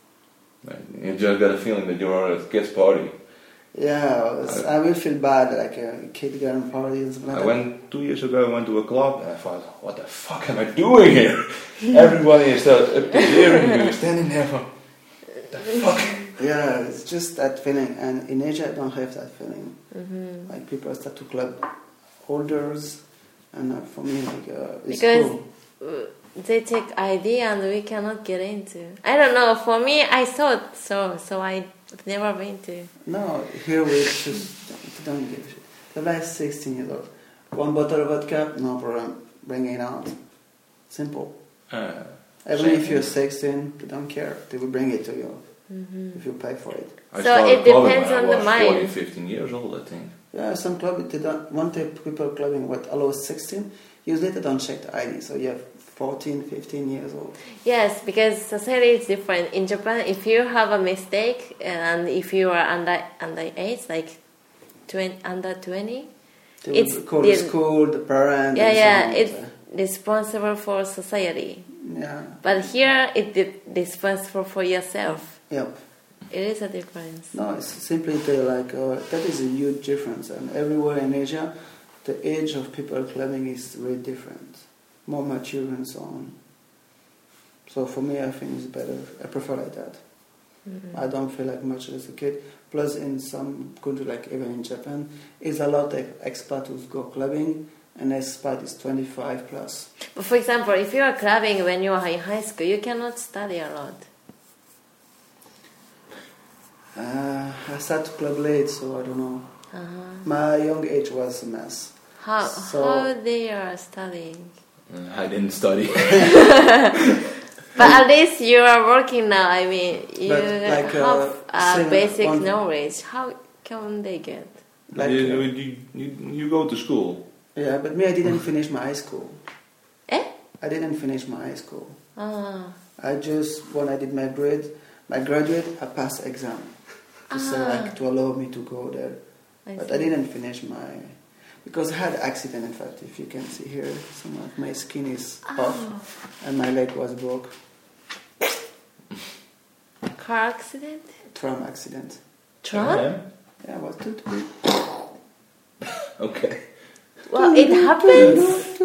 You just got a feeling that you're at a kids' party. Yeah, it's- I will feel bad, like a kid going party and something like I that. went two years ago. I went to a club and I thought, "What the fuck am I doing here?" Everybody is still up to hearing you, standing there for the fuck. Yeah, it's just that feeling, and in Asia I don't have that feeling. Mhm. Like people start to club holders, and uh, for me, like uh, it's Because cool. uh, they take I D and we cannot get into. I don't know. For me, I thought so, so I've never been to. No, here we just don't give a shit. The last sixteen years old, one bottle of vodka, no problem, bring it out. Simple. Uh, Even same if you're thing. sixteen, they don't care. They will bring it to you Mhm. if you pay for it. I So started it clubbing depends when I on the was mind. fourteen, fifteen years old, I think. Yeah, some club they don't want the people clubbing what allows sixteen. Usually they don't check the I D, so you have fourteen, fifteen years old. Yes, because society is different. In Japan, if you have a mistake and if you are under underage, like twenty, under twenty, They It's will call the- the school, the parent. yeah, and so yeah, on. it's responsible for society. Yeah. But here, it's responsible for yourself. Yep. It is a difference. No, it's simply the, like uh, that is a huge difference, and everywhere in Asia, the age of people clubbing is really different, more mature and so on. So for me, I think it's better. I prefer like that. Mhm. I don't feel like much as a kid. Plus, in some countries, like even in Japan, is a lot of expats who go clubbing, and expat is twenty-five plus. But for example, if you are clubbing when you are in high school, you cannot study a lot. Uh, I started to club late, so I don't know. Uh-huh. My young age was a mess. How So- how they are studying? Uh, I didn't study. But at least you are working now. I mean, you But, like, uh, have a same basic one- knowledge. How can they get? Like, you, uh, you, you, you go to school. Yeah, but me, I didn't finish my high school. Eh? I didn't finish my high school. Ah. I just, when I did my grade, my graduate, I passed exam. To say, Ah. like, to allow me to go there. I But see. I didn't finish my, because I had accident, in fact, if you can see here, some of my skin is Oh. off, and my leg was broke. Car accident? Tram accident. Trump? Yeah, I was too, too, Okay. Well, it happens.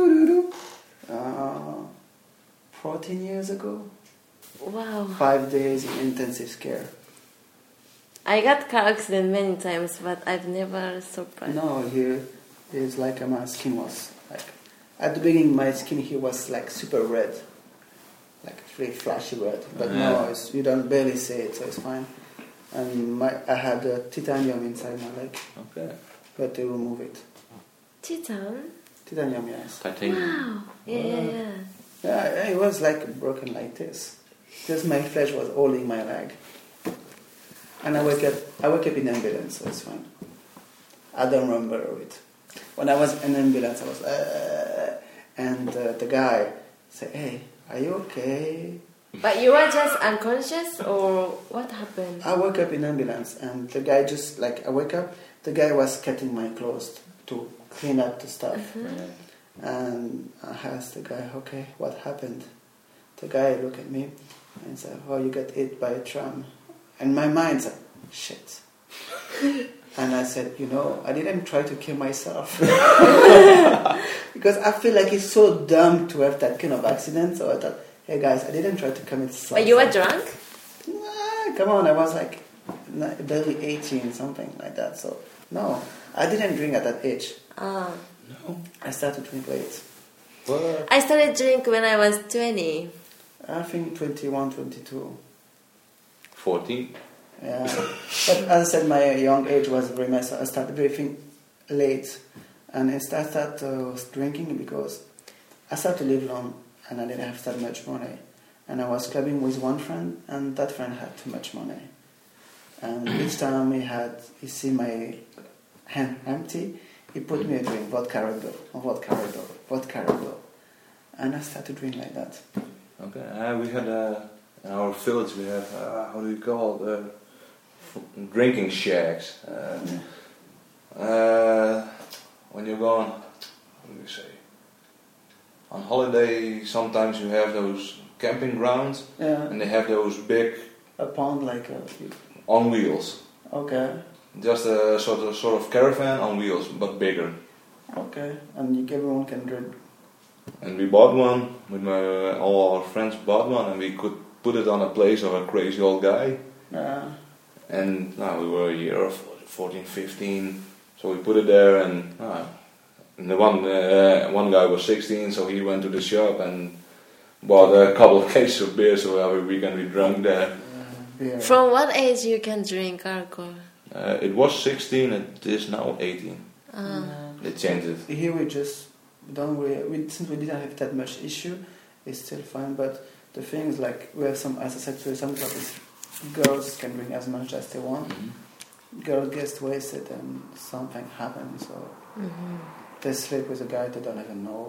uh, fourteen years ago. Wow. Five days in intensive care. I got car accident many times, but I've never survived. No, here is like uh, my skin was like at the beginning. My skin here was like super red, like really flashy red. But no, Yeah. it's, you don't barely see it, so it's fine. And my I had uh, titanium inside my leg, Okay. but they remove it. Titan? Titanium, yes. Titanium. Wow. Yeah, yeah, yeah. Yeah, it was like broken like this. Just my flesh was holding my leg. And I wake up. I wake up in ambulance, so it's fine. I don't remember it. When I was in ambulance, I was, uh, and uh, the guy said, "Hey, are you okay?" But you were just unconscious, or what happened? I woke up in ambulance, and the guy just like I wake up. The guy was cutting my clothes to clean up the stuff, and I asked the guy, "Okay, what happened?" The guy looked at me and said, "Oh, you got hit by a tram." And my mind said, "Shit." And I said, you know, I didn't try to kill myself. Because I feel like it's so dumb to have that kind of accident. So I thought, hey guys, I didn't try to commit suicide. But you were drunk? Nah, come on, I was like barely eighteen, something like that. So, no, I didn't drink at that age. Ah. No, I started to drink late. What? I started drink when I was twenty. I think twenty-one, twenty-two. fourteen? Yeah. But as I said, my young age was very messed up. I started drinking late. And I started uh, drinking because I started to live alone and I didn't have that much money. And I was clubbing with one friend and that friend had too much money. And each time he had, he see my hand empty, he put me a drink, vodka Red Bull, vodka Red Bull, vodka Red Bull. And I started drinking like that. Okay, uh, we had uh, in our village we have uh, how do you call it? Uh, f- drinking shacks. Uh, uh, when you're going, what do you say? On holiday, sometimes you have those camping grounds, Yeah. and they have those big A pound like a, on wheels. okay, Just a sort of sort of caravan on wheels, but bigger. okay. And you, everyone can drink. And we bought one with my all our friends bought one, and we could put it on a place of a crazy old guy. Uh, And now we were a year of fourteen, fifteen, so we put it there, and, uh, and the one uh, one guy was sixteen, so he went to the shop and bought a couple of cases of beer, so every weekend we drank there. uh, beer. From what age you can drink alcohol? Uh, it was sixteen, it is now eighteen. Ah. Yeah. They changed it. Here we just don't really, we, since we didn't have that much issue, it's still fine. But the thing is, like, we have some, as I said to you, some clubs, girls can drink as much as they want. Mm-hmm. Girl gets wasted and something happens, so Mm-hmm. they sleep with a guy they don't even know.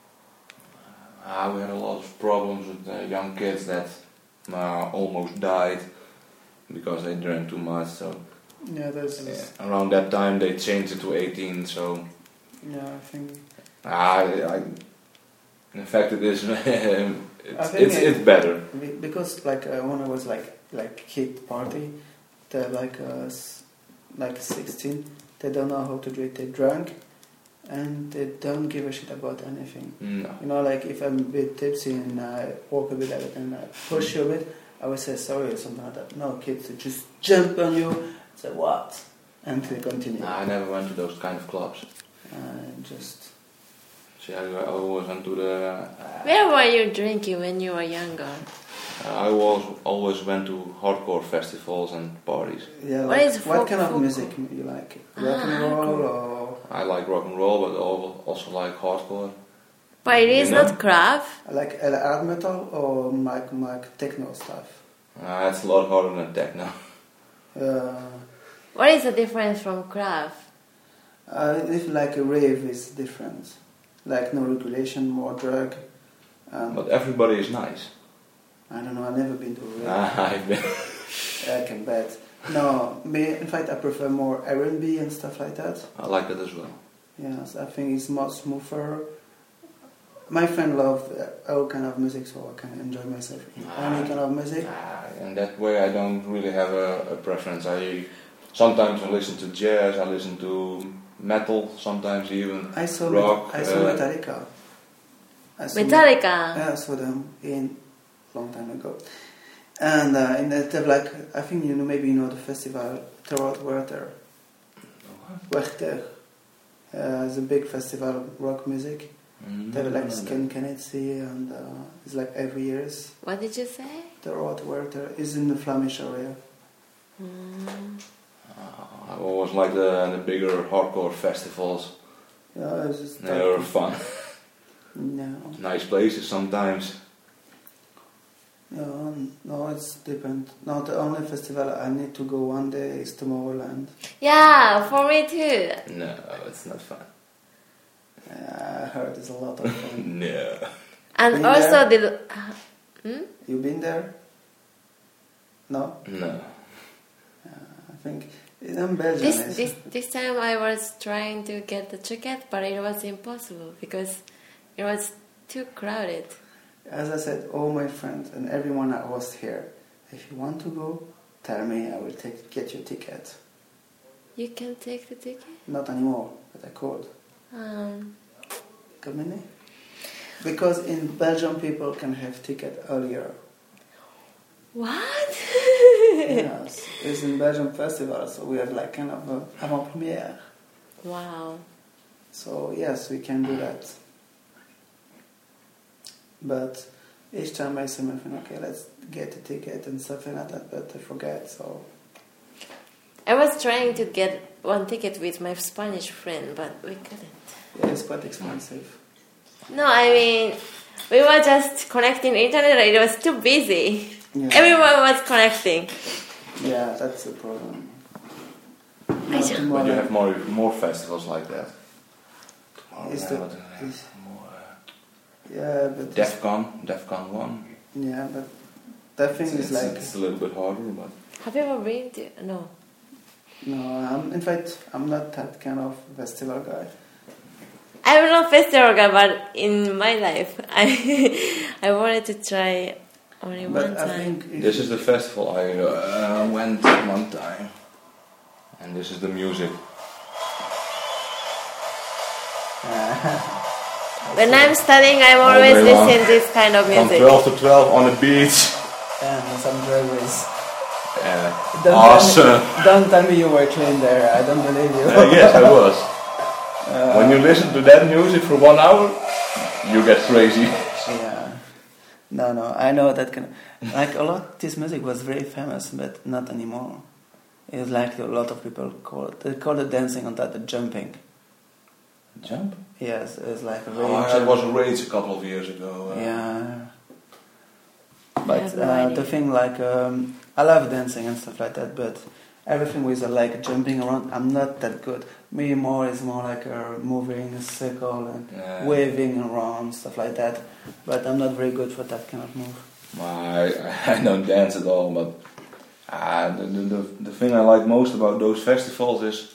Ah, we had a lot of problems with uh, young kids that uh, almost died because they drank too much. So Yeah, there's this, yeah, around that time they changed it to eighteen. So yeah, I think, ah, I, in fact, it is. it's, think it's, it- it's better. be- because like uh, when I was like like kid party, they're like uh, s- like sixteen, they don't know how to drink, they drunk, and they don't give a shit about anything. No. You know, like if I'm a bit tipsy and I walk a bit at it and I push you a bit, I would say sorry or something like that. No, kids, they just jump on you, say what, and they continue. Nah, I never went to those kind of clubs. Uh, just See, I, I always went to the. Uh, Where were you drinking when you were younger? I was always went to hardcore festivals and parties. yeah. What Like, is what folk- kind of folk- music you like? Rock and Ah, roll cool. or I like rock and roll, but al- also like hardcore. But it is You know? not craft. like uh, hard metal or like like techno stuff? Uh, it's a lot harder than techno. Uh, What is the difference from craft? uh, if like a rave is different, like no regulation, more drug. Um, But everybody is nice. I don't know. I've never been to a rave. Ah, I've been. I can bet. No, me. In fact, I prefer more R and B and stuff like that. I like that as well. Yes, I think it's more smoother. My friend loves all kind of music, so I can enjoy myself in any kind of music. Ah, and that way I don't really have a, a preference. I sometimes I listen to jazz, I listen to metal, sometimes even I saw rock. Met- I saw uh, Metallica. I saw Metallica. Yeah, I saw them in long time ago. And uh, in the like, I think you know, maybe you know the festival Terror Werther. Werther. Uh, it's a big festival of rock music. Mm, They have like no, no. Skin Kennedy and uh, it's like every years. What did you say? The Road Werther is in the Flemish area. Mm. Uh, I always like the, the bigger hardcore festivals. Yeah, it's just They were fun. No, Nice places sometimes. no, no, it's different. No, the only festival I need to go one day is Tomorrowland. Yeah, for me too. No, it's not fun. Uh, I heard it's a lot of fun. No. And Been also the. Uh, hmm? You been there? No, No. I think in Belgium. This is- this this time I was trying to get the ticket, but it was impossible because it was too crowded. As I said, all my friends and everyone that was here, if you want to go, tell me. I will take get your ticket. You can take the ticket? Not anymore, but I could. Um, Comedy? Because in Belgium people can have ticket earlier. what? Yes, it's in Belgium festival, so we have like kind of a avant-premiere. Wow. So yes, we can do that. But each time I say, my friend, okay, let's get a ticket and stuff like that, but I forget, so... I was trying to get one ticket with my Spanish friend, but we couldn't. Yeah, it's quite expensive. No, I mean, we were just connecting internet and it was too busy. Yeah. Everyone was connecting. Yeah, that's the problem. I Not just- tomorrow. But you have more more festivals like that. Is Tomorrowland, the- uh, is- more, uh, Yeah, but... DEFCON, DEFCON one. Yeah, but that thing It's, is it's, like... it's a little bit harder, but Have you ever been to? No. No, I'm, in fact, I'm not that kind of festival guy. I'm not festival guy, but in my life, I I wanted to try only But one I time. think... if- this is the festival I uh, went one time, and this is the music. When I'm studying, I'm All always day long. listening this kind of From music. twelve to twelve on the beach. And some drag race. Uh, Don't awesome. Tell me, don't tell me you were trained there. I don't believe you. Uh, yes, I was. When you listen to that music for one hour, you get crazy. Yeah. No, no. I know that kind of, like a lot. This music was very famous, but not anymore. It's like a lot of people call it. They call it dancing on that the jumping. Jump? Yes, it's like a very. Oh, that was a rage a couple of years ago. Uh, Yeah. I But have no uh, idea. the thing like um, I love dancing and stuff like that, but everything with uh, like jumping around, I'm not that good. Me more is more like uh, moving a circle and Yeah. waving around stuff like that. But I'm not very good for that kind of move. I, I don't dance at all, but uh, the, the, the, the thing I like most about those festivals is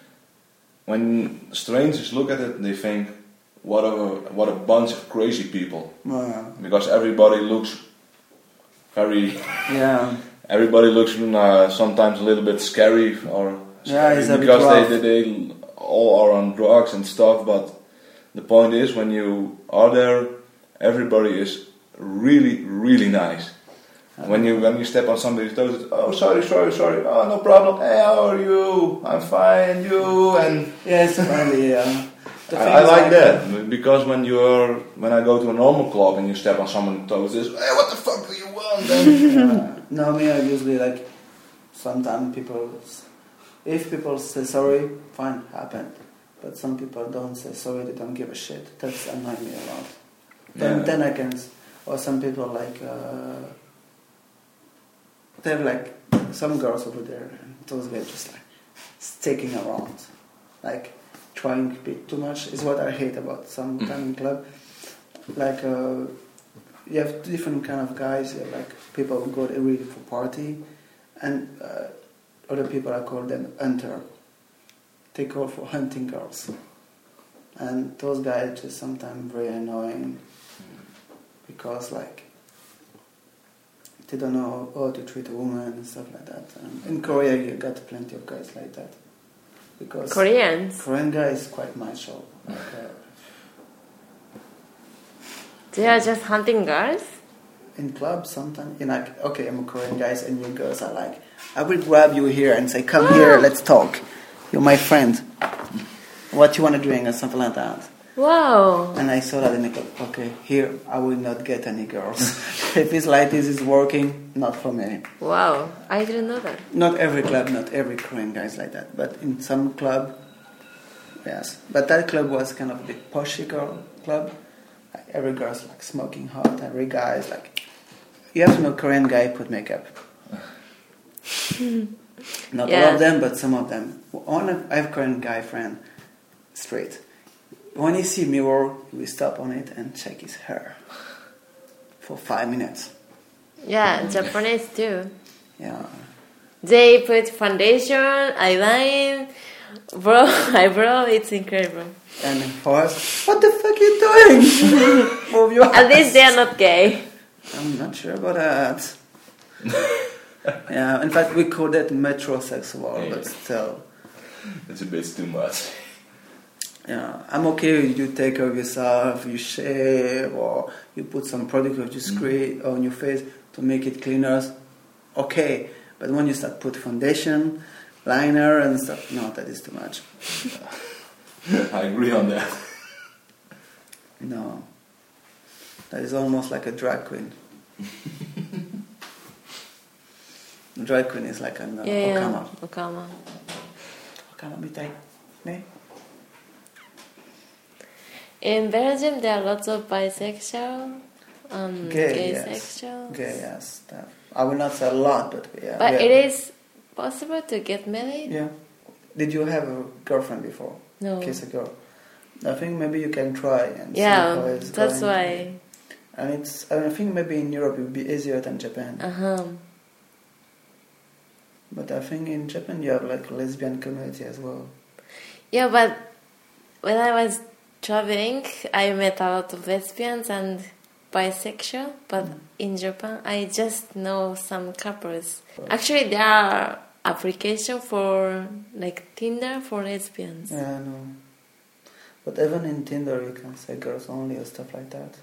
when strangers look at it, they think, what a, what a bunch of crazy people. Uh, Because everybody looks very, yeah, everybody looks uh, sometimes a little bit scary or Yeah, scary it's a bit because rough. they, they, they all are on drugs and stuff, but the point is when you are there, everybody is really, really nice. When you when you step on somebody's toes, it's, oh sorry, sorry, sorry, oh no problem. Hey, how are you? I'm fine, and you? And yeah, it's funny. Yeah, The thing I, I is like that because when you're when I go to a normal club and you step on someone's toes, it's hey, what the fuck do you want? And uh, no, me, I usually like. Sometimes people, if people say sorry, fine, happened. But some people don't say sorry; they don't give a shit. That's annoying me a lot. Then, Yeah. then I can, or some people like. Uh, They're like some girls over there, and those guys just like sticking around, like trying to be too much. Is what I hate about some Mm. time in club. Like uh, you have different kind of guys. You have like people who go there really for party, and uh, other people I call them hunter. They go for hunting girls, and those guys just sometimes very annoying because like. They don't know how to treat a woman and stuff like that. And in Korea, you got plenty of guys like that. Because Koreans. Korean guy is quite macho. Like, uh, They are just hunting girls? in clubs, sometimes you're like, okay, I'm a Korean guy, and you girls are like, I will grab you here and say, come here, let's talk. You're my friend. What you want to drink or something like that. Wow. And I saw that in the club. Okay, here I will not get any girls. If it's like this is working, not for me. Wow. I didn't know that. Not every club, not every Korean guy is like that. But in some club, yes. But that club was kind of a bit poshy girl club. Like every girl's like smoking hot. Every guy is like, you have to know Korean guy put makeup. Not all Yeah. of them, but some of them. One of, I have a Korean guy friend, straight. When he see mirror, we stop on it and check his hair for five minutes. Yeah, Japanese too. Yeah. They put foundation, eyeliner, bro, eyebrow. It's incredible. And for us, what the fuck are you doing? Move your At least ass. they are not gay. I'm not sure about that. Yeah, in fact, we call that metrosexual, but still. It's a bit too much. Yeah, I'm okay if you take care of yourself, you shave, or you put some product of your screen mm. on your face to make it cleaner. Okay, but when you start put foundation, liner and stuff, no, that is too much. I agree on that. No, that is almost like a drag queen. The drag queen is like an uh, yeah, Okama. Yeah, Okama. Okama mitai, ne? In Belgium, there are lots of bisexual, um, gay, gay yes. sexuals. Gay, yes. That, I will not say a lot, but yeah. But yeah. it is possible to get married? Yeah. Did you have a girlfriend before? No. Kiss a girl. I think maybe you can try and yeah, see how it's that's going. why. And it's. I think maybe in Europe it would be easier than Japan. Uh huh. But I think in Japan you have like a lesbian community as well. Yeah, but when I was traveling, I met a lot of lesbians and bisexual. But mm. in Japan, I just know some couples. Actually, there are applications for like Tinder for lesbians. Yeah, I know. But even in Tinder, you can say girls only or stuff like that.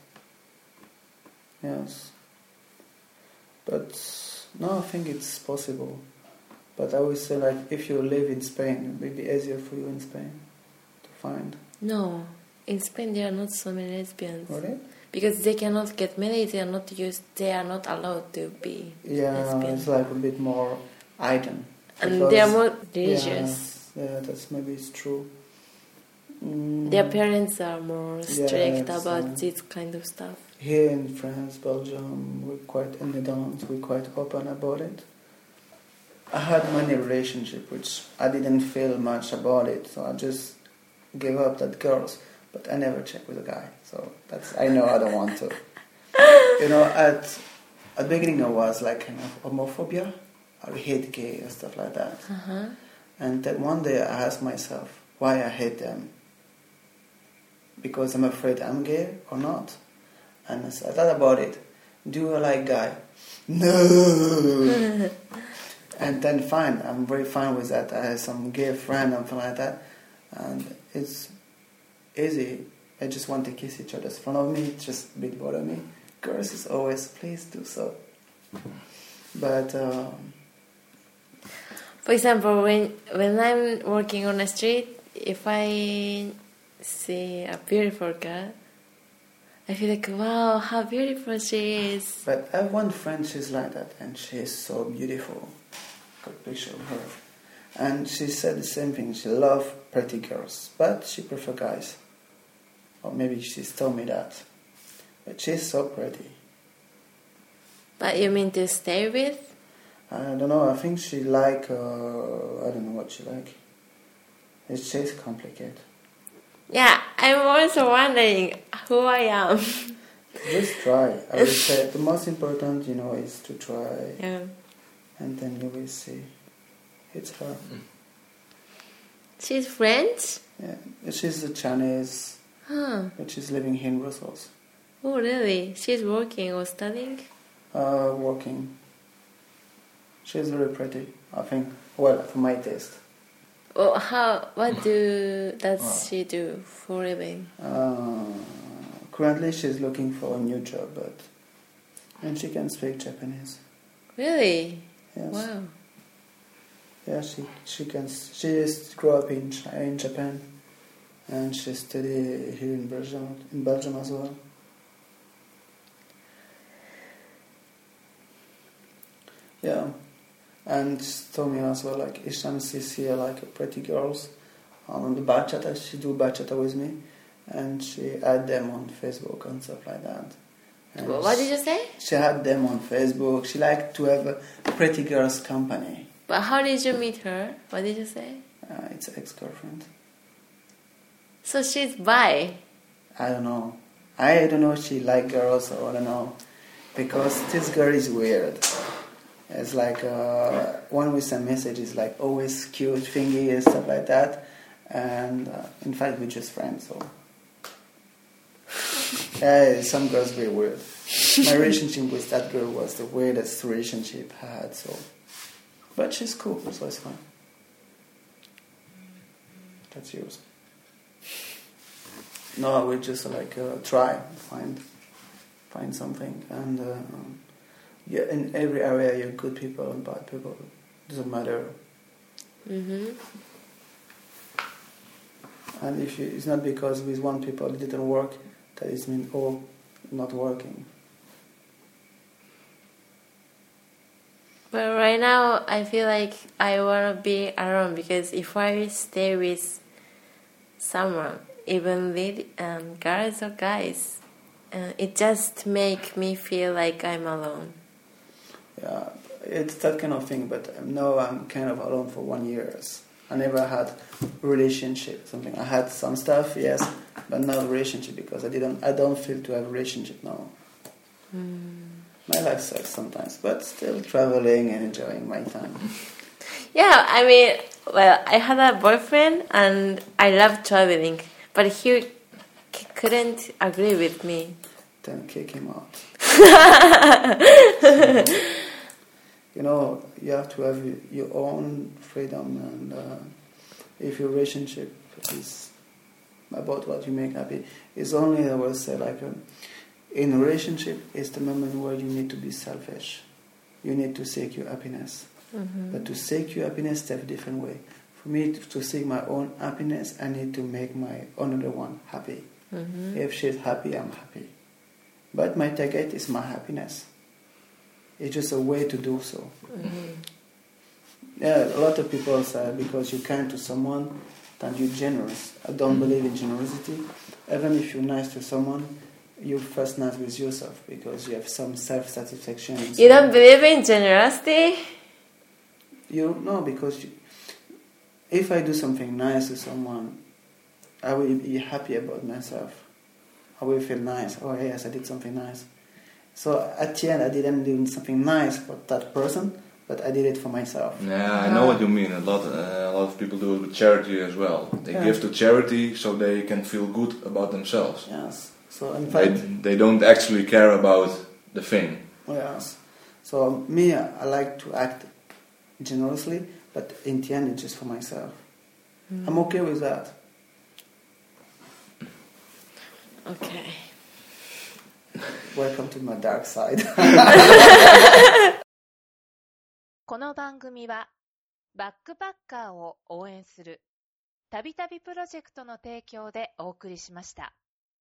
Yes. But no, I think it's possible. But I always say, like, if you live in Spain, it will be easier for you in Spain to find. No, in Spain there are not so many lesbians. Really? Because they cannot get married, they are not used, they are not allowed to be yeah, lesbian. It's like a bit more hidden. And they are more religious. Yeah, yeah, that's maybe it's true. Mm. Their parents are more strict yeah, about uh, this kind of stuff. Here in France, Belgium, we're quite in the dance, we're quite open about it. I had many relationships which I didn't feel much about it, so I just gave up that girls. But I never checked with a guy, so that's I know I don't want to. You know, at at the beginning I was like kind of homophobia, I hate gay and stuff like that. Uh-huh. And then one day I asked myself why I hate them. Because I'm afraid I'm gay or not. And I thought about it. Do I like guy? No. And then fine, I'm very fine with that. I have some gay friend and something like that, and it's easy. I just want to kiss each other in front of me. It just a bit bother me. Girls is always please do so. But um, for example, when when I'm working on the street, if I see a beautiful girl, I feel like, wow, how beautiful she is. But I have one friend, she's like that, and she is so beautiful. Got a picture of her. And she said the same thing. She loves pretty girls, but she prefers guys. Or maybe she's told me that. But she's so pretty. But you mean to stay with? I don't know. I think she like, uh, I don't know what she like. It's just complicated. Yeah, I'm also wondering who I am. Just try. I would say the most important, you know, is to try. Yeah. And then you will see. It's her. She's French? Yeah. She's a Chinese. Huh. But she's living here in Brussels. Oh, really? She's working or studying? Uh, working. She's very pretty, I think. Well, for my taste. Oh, how? What do does oh. she do for a living? Uh, currently, she's looking for a new job, but and she can speak Japanese. Really? Yes. Wow. Yeah, she she can. She just grew up in in Japan, and she studied here in Belgium in Belgium as well. Yeah. And she told me as well, like, each time she see like pretty girls on the bachata, she do bachata with me, and she add them on Facebook and stuff like that. And what did you say? She had them on Facebook. She liked to have a pretty girls company. But how did you meet her? What did you say? Uh, it's an ex-girlfriend. So she's bi? I don't know. I don't know if she like girls or I don't know. Because this girl is weird. It's like uh, when we send messages, like always cute, thingy and stuff like that. And uh, in fact, we're just friends. So yeah, some girls very weird. My relationship with that girl was the weirdest relationship I had. So, but she's cool, so it's fine. That's yours. No, we just like uh, try find find something, and uh, yeah, in every area you're good people and bad people. Doesn't matter. Mm-hmm. And if you, it's not because with one people it didn't work, that it means all not working. But right now, I feel like I want to be alone because if I stay with someone, even with um, girls or guys, uh, it just make me feel like I'm alone. Yeah, it's that kind of thing. But now I'm kind of alone for one year. I never had relationship. Something I had some stuff, yes, but not relationship because I didn't. I don't feel to have a relationship now. Mm. My life sucks sometimes, but still traveling and enjoying my time. Yeah, I mean, well, I had a boyfriend and I loved traveling, but he c- couldn't agree with me. Then kick him out. You know, you have to have your own freedom, and uh, if your relationship is about what you make happy, it's only, I will say, like um, in a relationship, it's the moment where you need to be selfish. You need to seek your happiness. Mm-hmm. But to seek your happiness, that's a different way. For me, to, to seek my own happiness, I need to make my another one happy. Mm-hmm. If she's happy, I'm happy. But my target is my happiness. It's just a way to do so. Mm-hmm. Yeah, a lot of people say because you're kind to someone, then you're generous. I don't believe in generosity. Even if you're nice to someone, you're first nice with yourself because you have some self-satisfaction. You don't believe in generosity? You no, because you, if I do something nice to someone, I will be happy about myself. I will feel nice. Oh yes, I did something nice. So at the end, I didn't do something nice for that person, but I did it for myself. Yeah, I know what you mean. A lot, uh, a lot of people do it with charity as well. They Yeah. give to charity so they can feel good about themselves. Yes. So in They, fact, they don't actually care about the thing. yes. So me, I like to act generously, but in the end, it's just for myself. Mm. I'm okay with that. Okay. Welcome to my dark side. この番組はバックパッカーを応援するたびたびプロジェクトの提供でお送りしました。